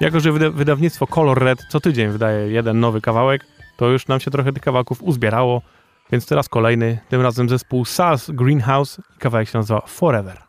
Jako że wyda- wydawnictwo Color Red co tydzień wydaje jeden nowy kawałek, to już nam się trochę tych kawałków uzbierało, więc teraz kolejny, tym razem zespół Sal's Greenhouse i kawałek się nazywa Forever.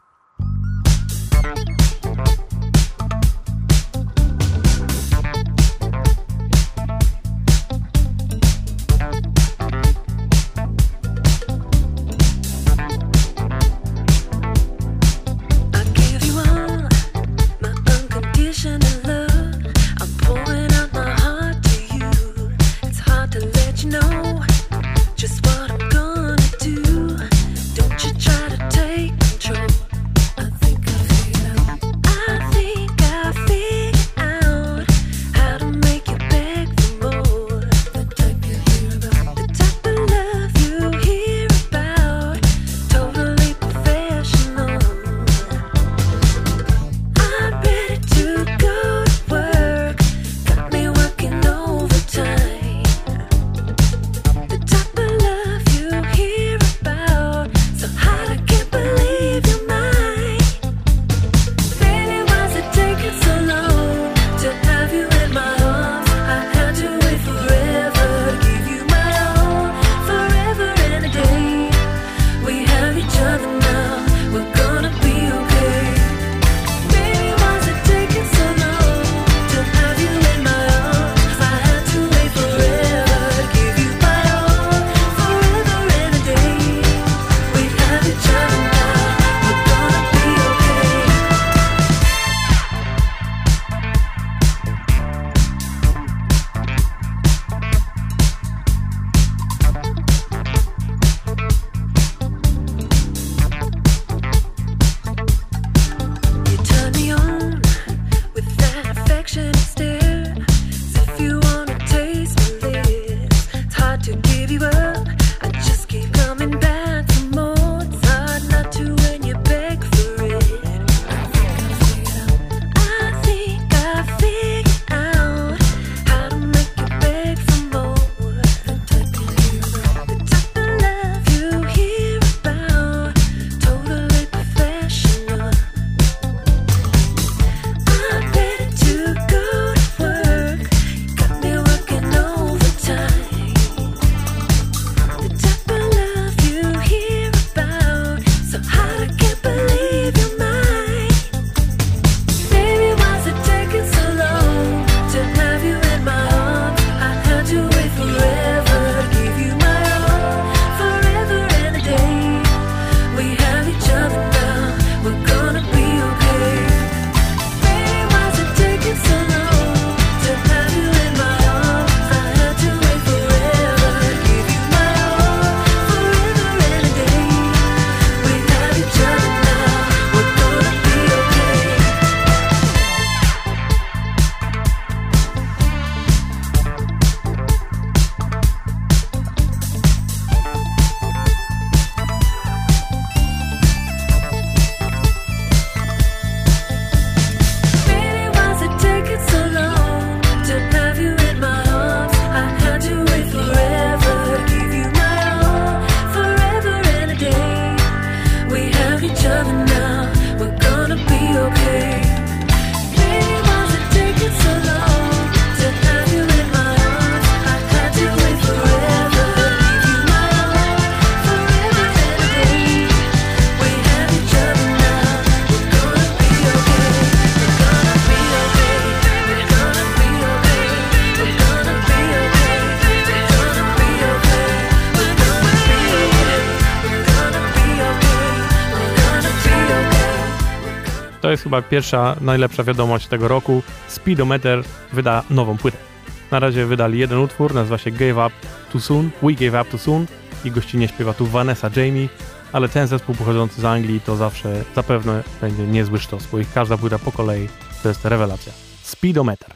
To jest chyba pierwsza, najlepsza wiadomość tego roku. Speedometer wyda nową płytę. Na razie wydali jeden utwór, nazywa się Gave Up Too Soon, We Gave Up Too Soon i gościnnie śpiewa tu Vanessa Jamie, ale ten zespół pochodzący z Anglii to zawsze zapewne będzie niezły sztos, bo ich każda płyta po kolei to jest rewelacja. Speedometer.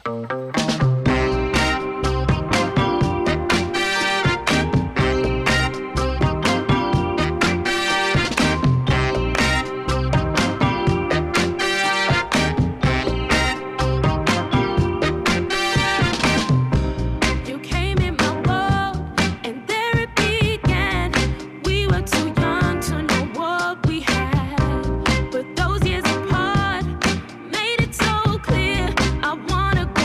Wanna go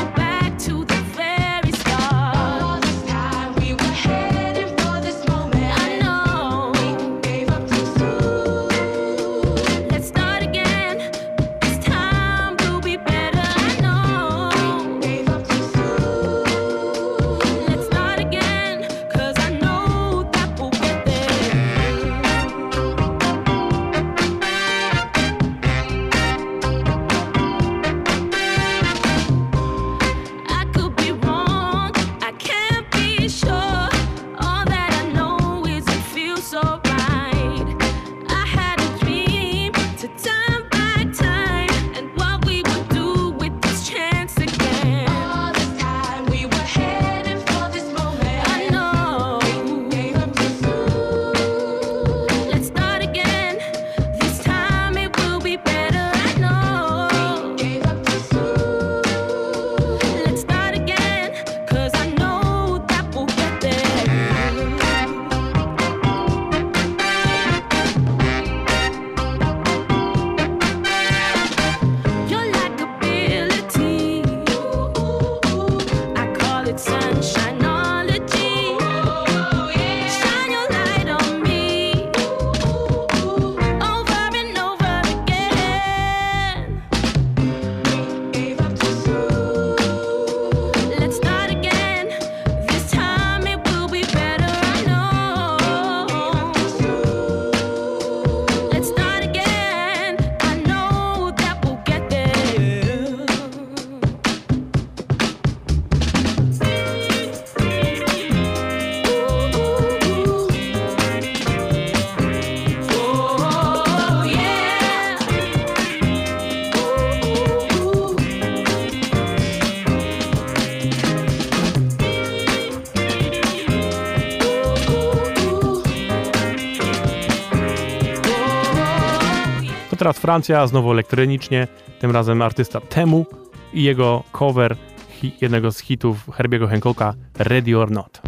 teraz Francja, znowu elektronicznie, tym razem artysta Temu i jego cover hi- jednego z hitów Herbiego Hancocka, Ready or Not.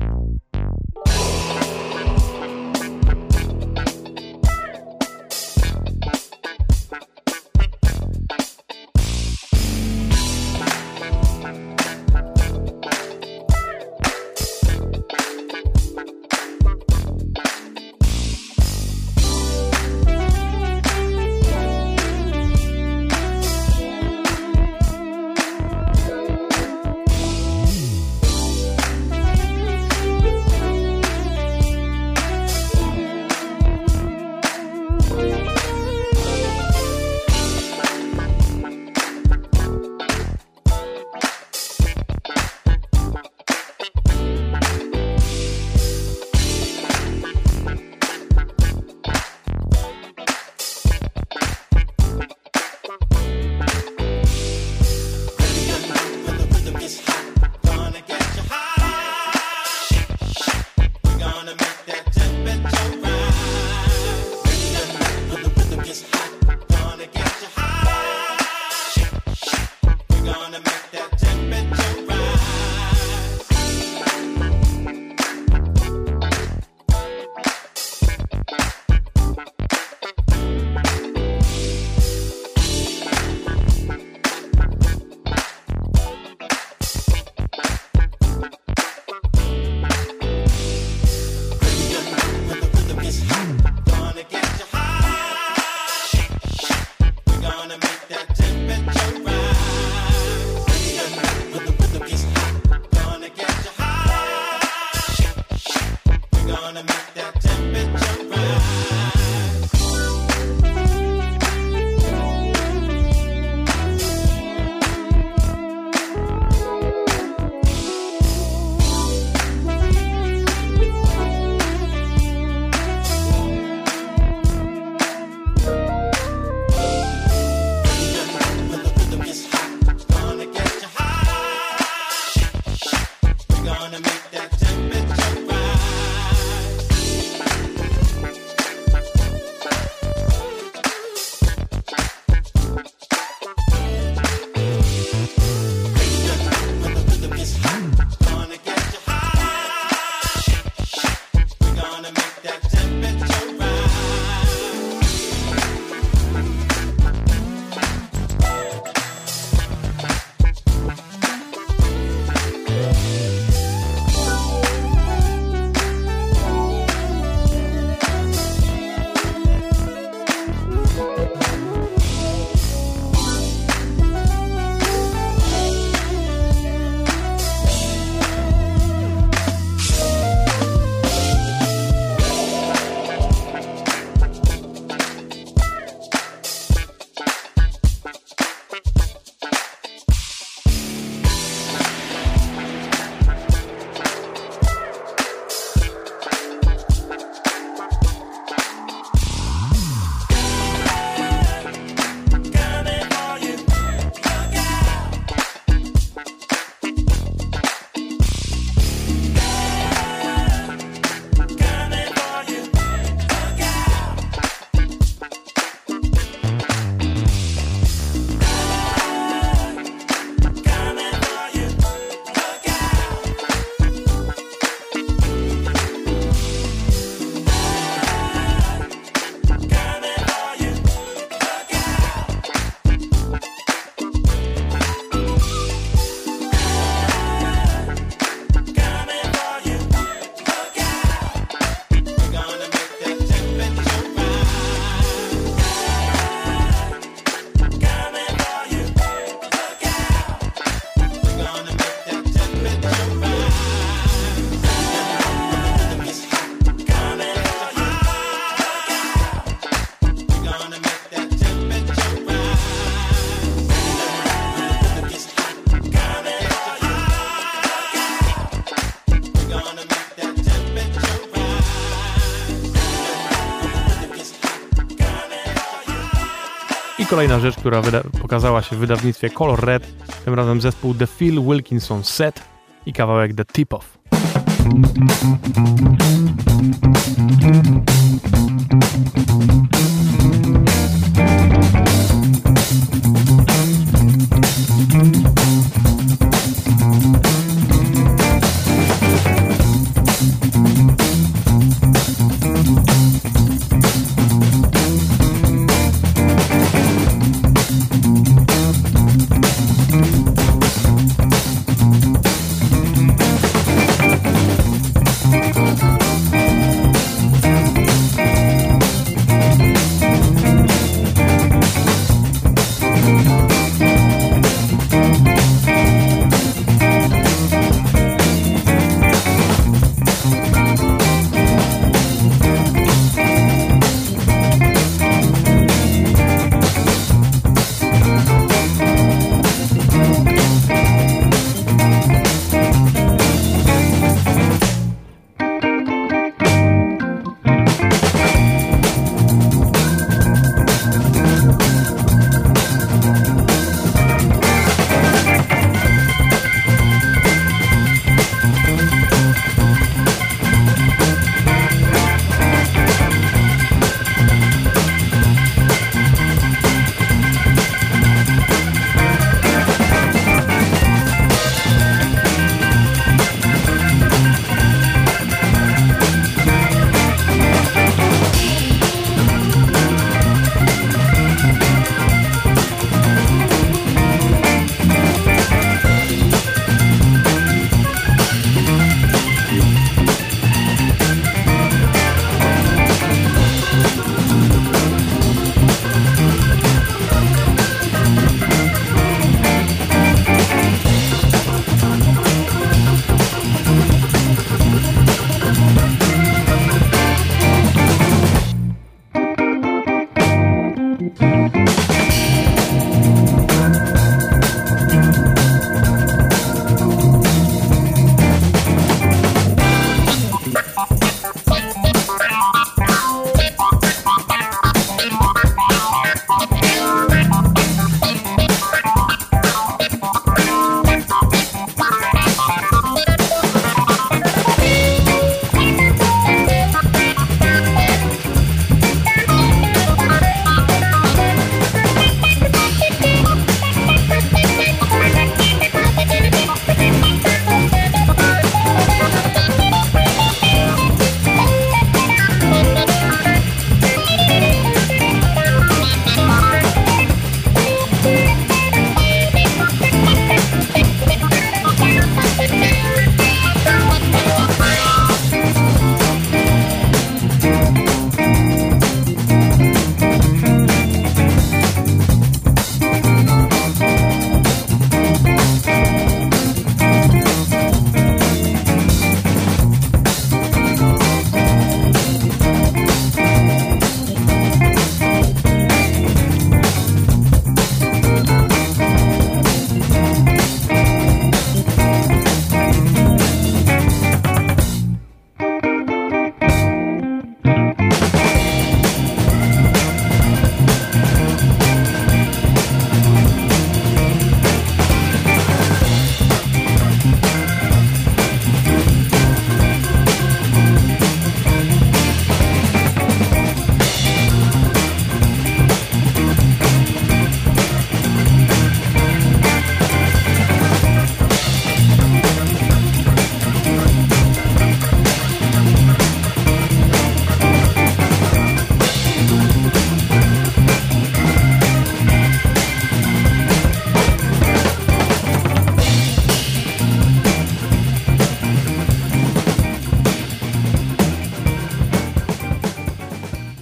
kolejna rzecz, która wyda- pokazała się w wydawnictwie Color Red, tym razem zespół The Phil Wilkinson Set i kawałek The Tip Off.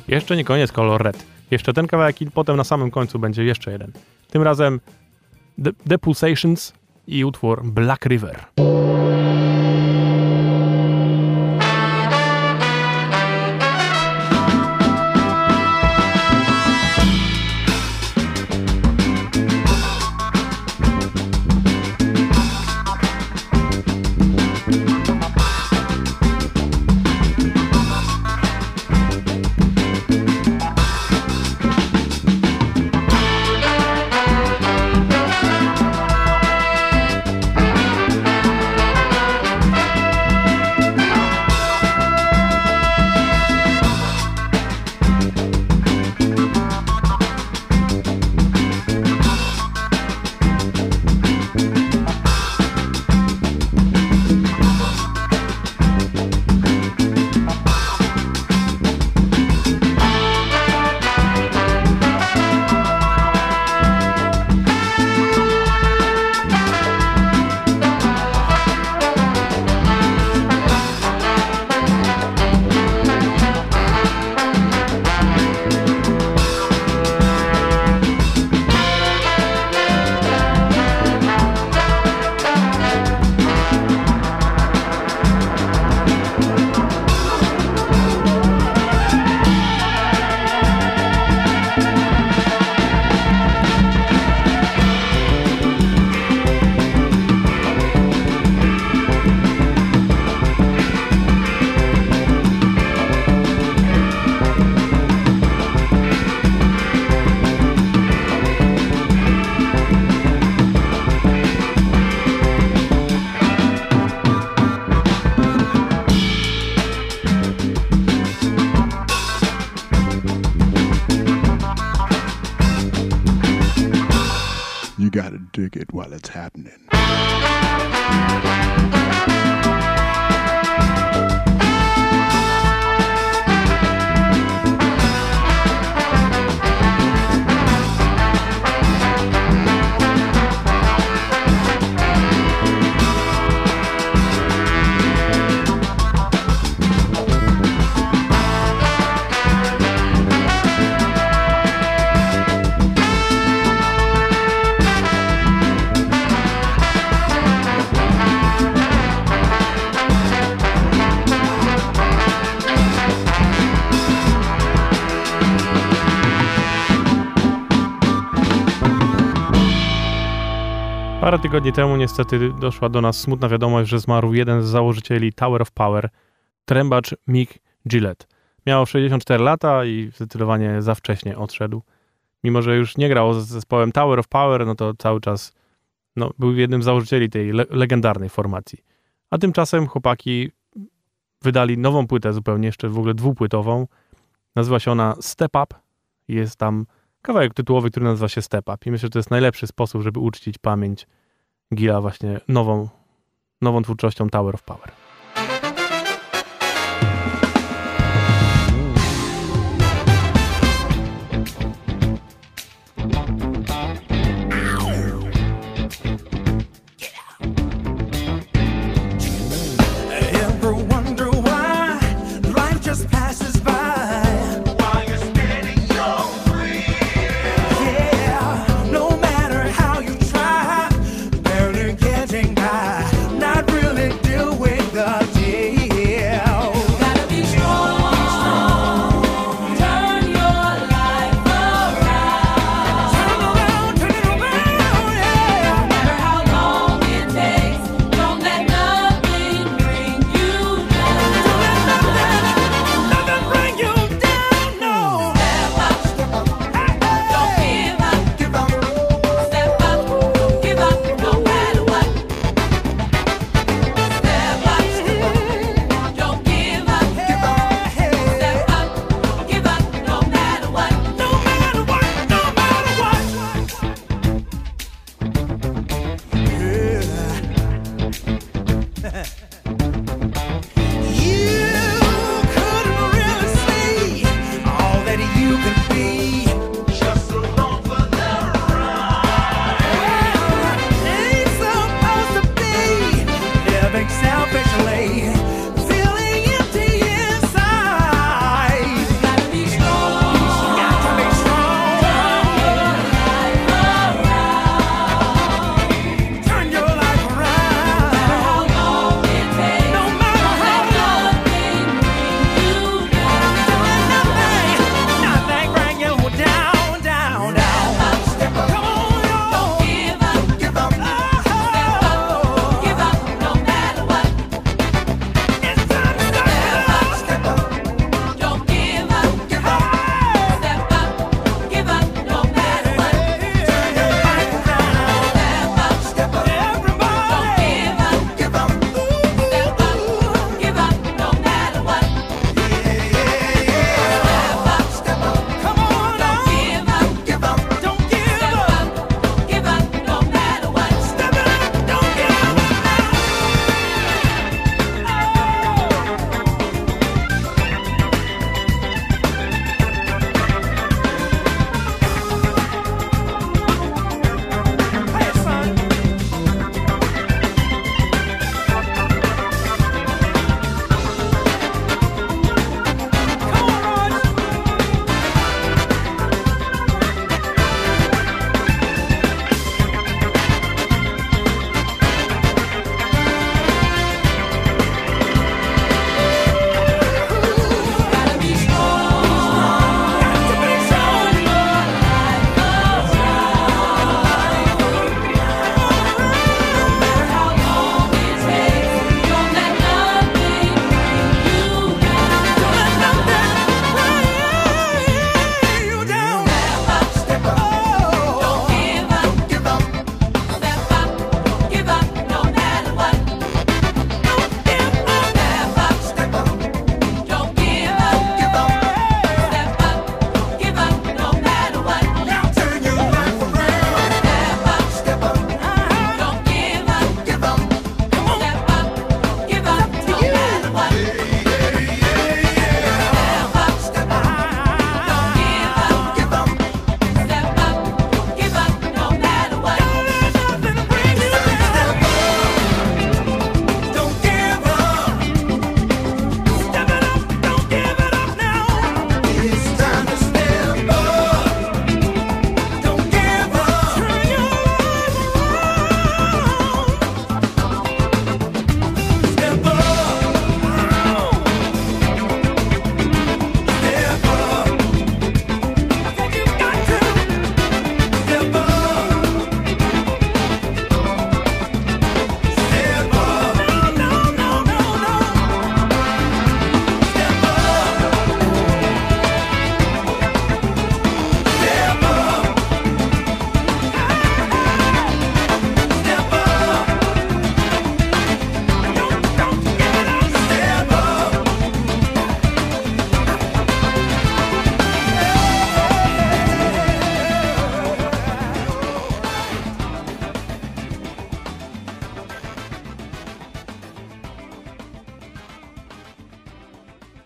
Jeszcze nie koniec Color Red. Jeszcze ten kawałek i potem na samym końcu będzie jeszcze jeden. Tym razem The, The Pulsations i utwór Black River. You gotta dig it while it's happening. Parę tygodni temu niestety doszła do nas smutna wiadomość, że zmarł jeden z założycieli Tower of Power, trębacz Mick Gillette. Miał sześćdziesiąt cztery lata i zdecydowanie za wcześnie odszedł. Mimo że już nie grał z zespołem Tower of Power, no to cały czas no, był jednym z założycieli tej le- legendarnej formacji. A tymczasem chłopaki wydali nową płytę zupełnie, jeszcze w ogóle dwupłytową. Nazywa się ona Step Up. Jest tam kawałek tytułowy, który nazywa się Step Up. I myślę, że to jest najlepszy sposób, żeby uczcić pamięć Gilla właśnie nową, nową twórczością Tower of Power. Nothing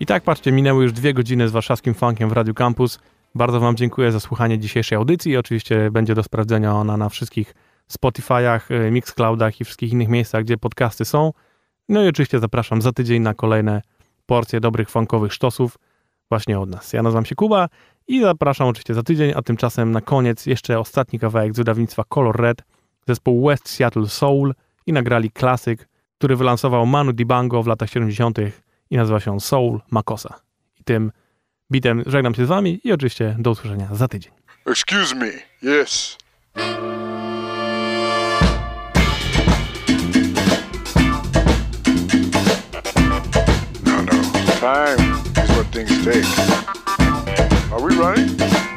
I tak, patrzcie, minęły już dwie godziny z warszawskim funkiem w Radiu Campus. Bardzo wam dziękuję za słuchanie dzisiejszej audycji. Oczywiście będzie do sprawdzenia ona na wszystkich Spotify'ach, Mixcloudach i wszystkich innych miejscach, gdzie podcasty są. No i oczywiście zapraszam za tydzień na kolejne porcje dobrych funkowych sztosów właśnie od nas. Ja nazywam się Kuba i zapraszam oczywiście za tydzień, a tymczasem na koniec jeszcze ostatni kawałek z wydawnictwa Color Red, zespół West Seattle Soul i nagrali klasyk, który wylansował Manu Dibango w latach siedemdziesiątych i nazywa się Soul Makossa. I tym bitem żegnam się z wami i oczywiście do usłyszenia za tydzień. Excuse me, yes. No, no, time is what things take. Are we running?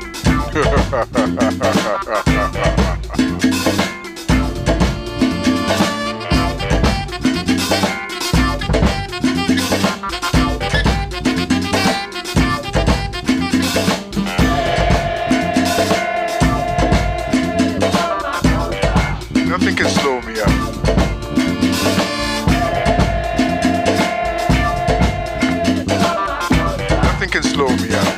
Nothing can slow me up. Nothing can slow me up.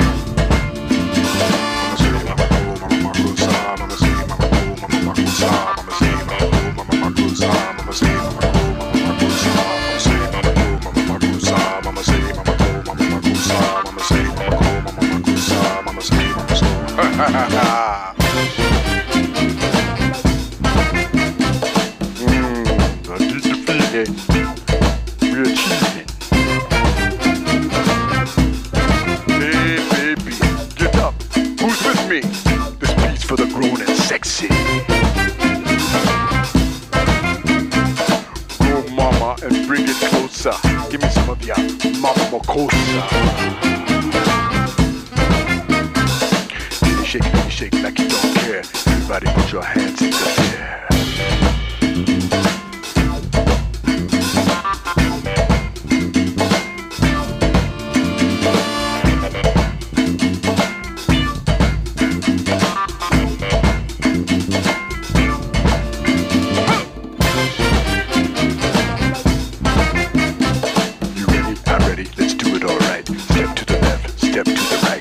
Give me some of your Mama Makossa. Really shake, really shake like you don't care. Everybody put your hands in the air. Step to the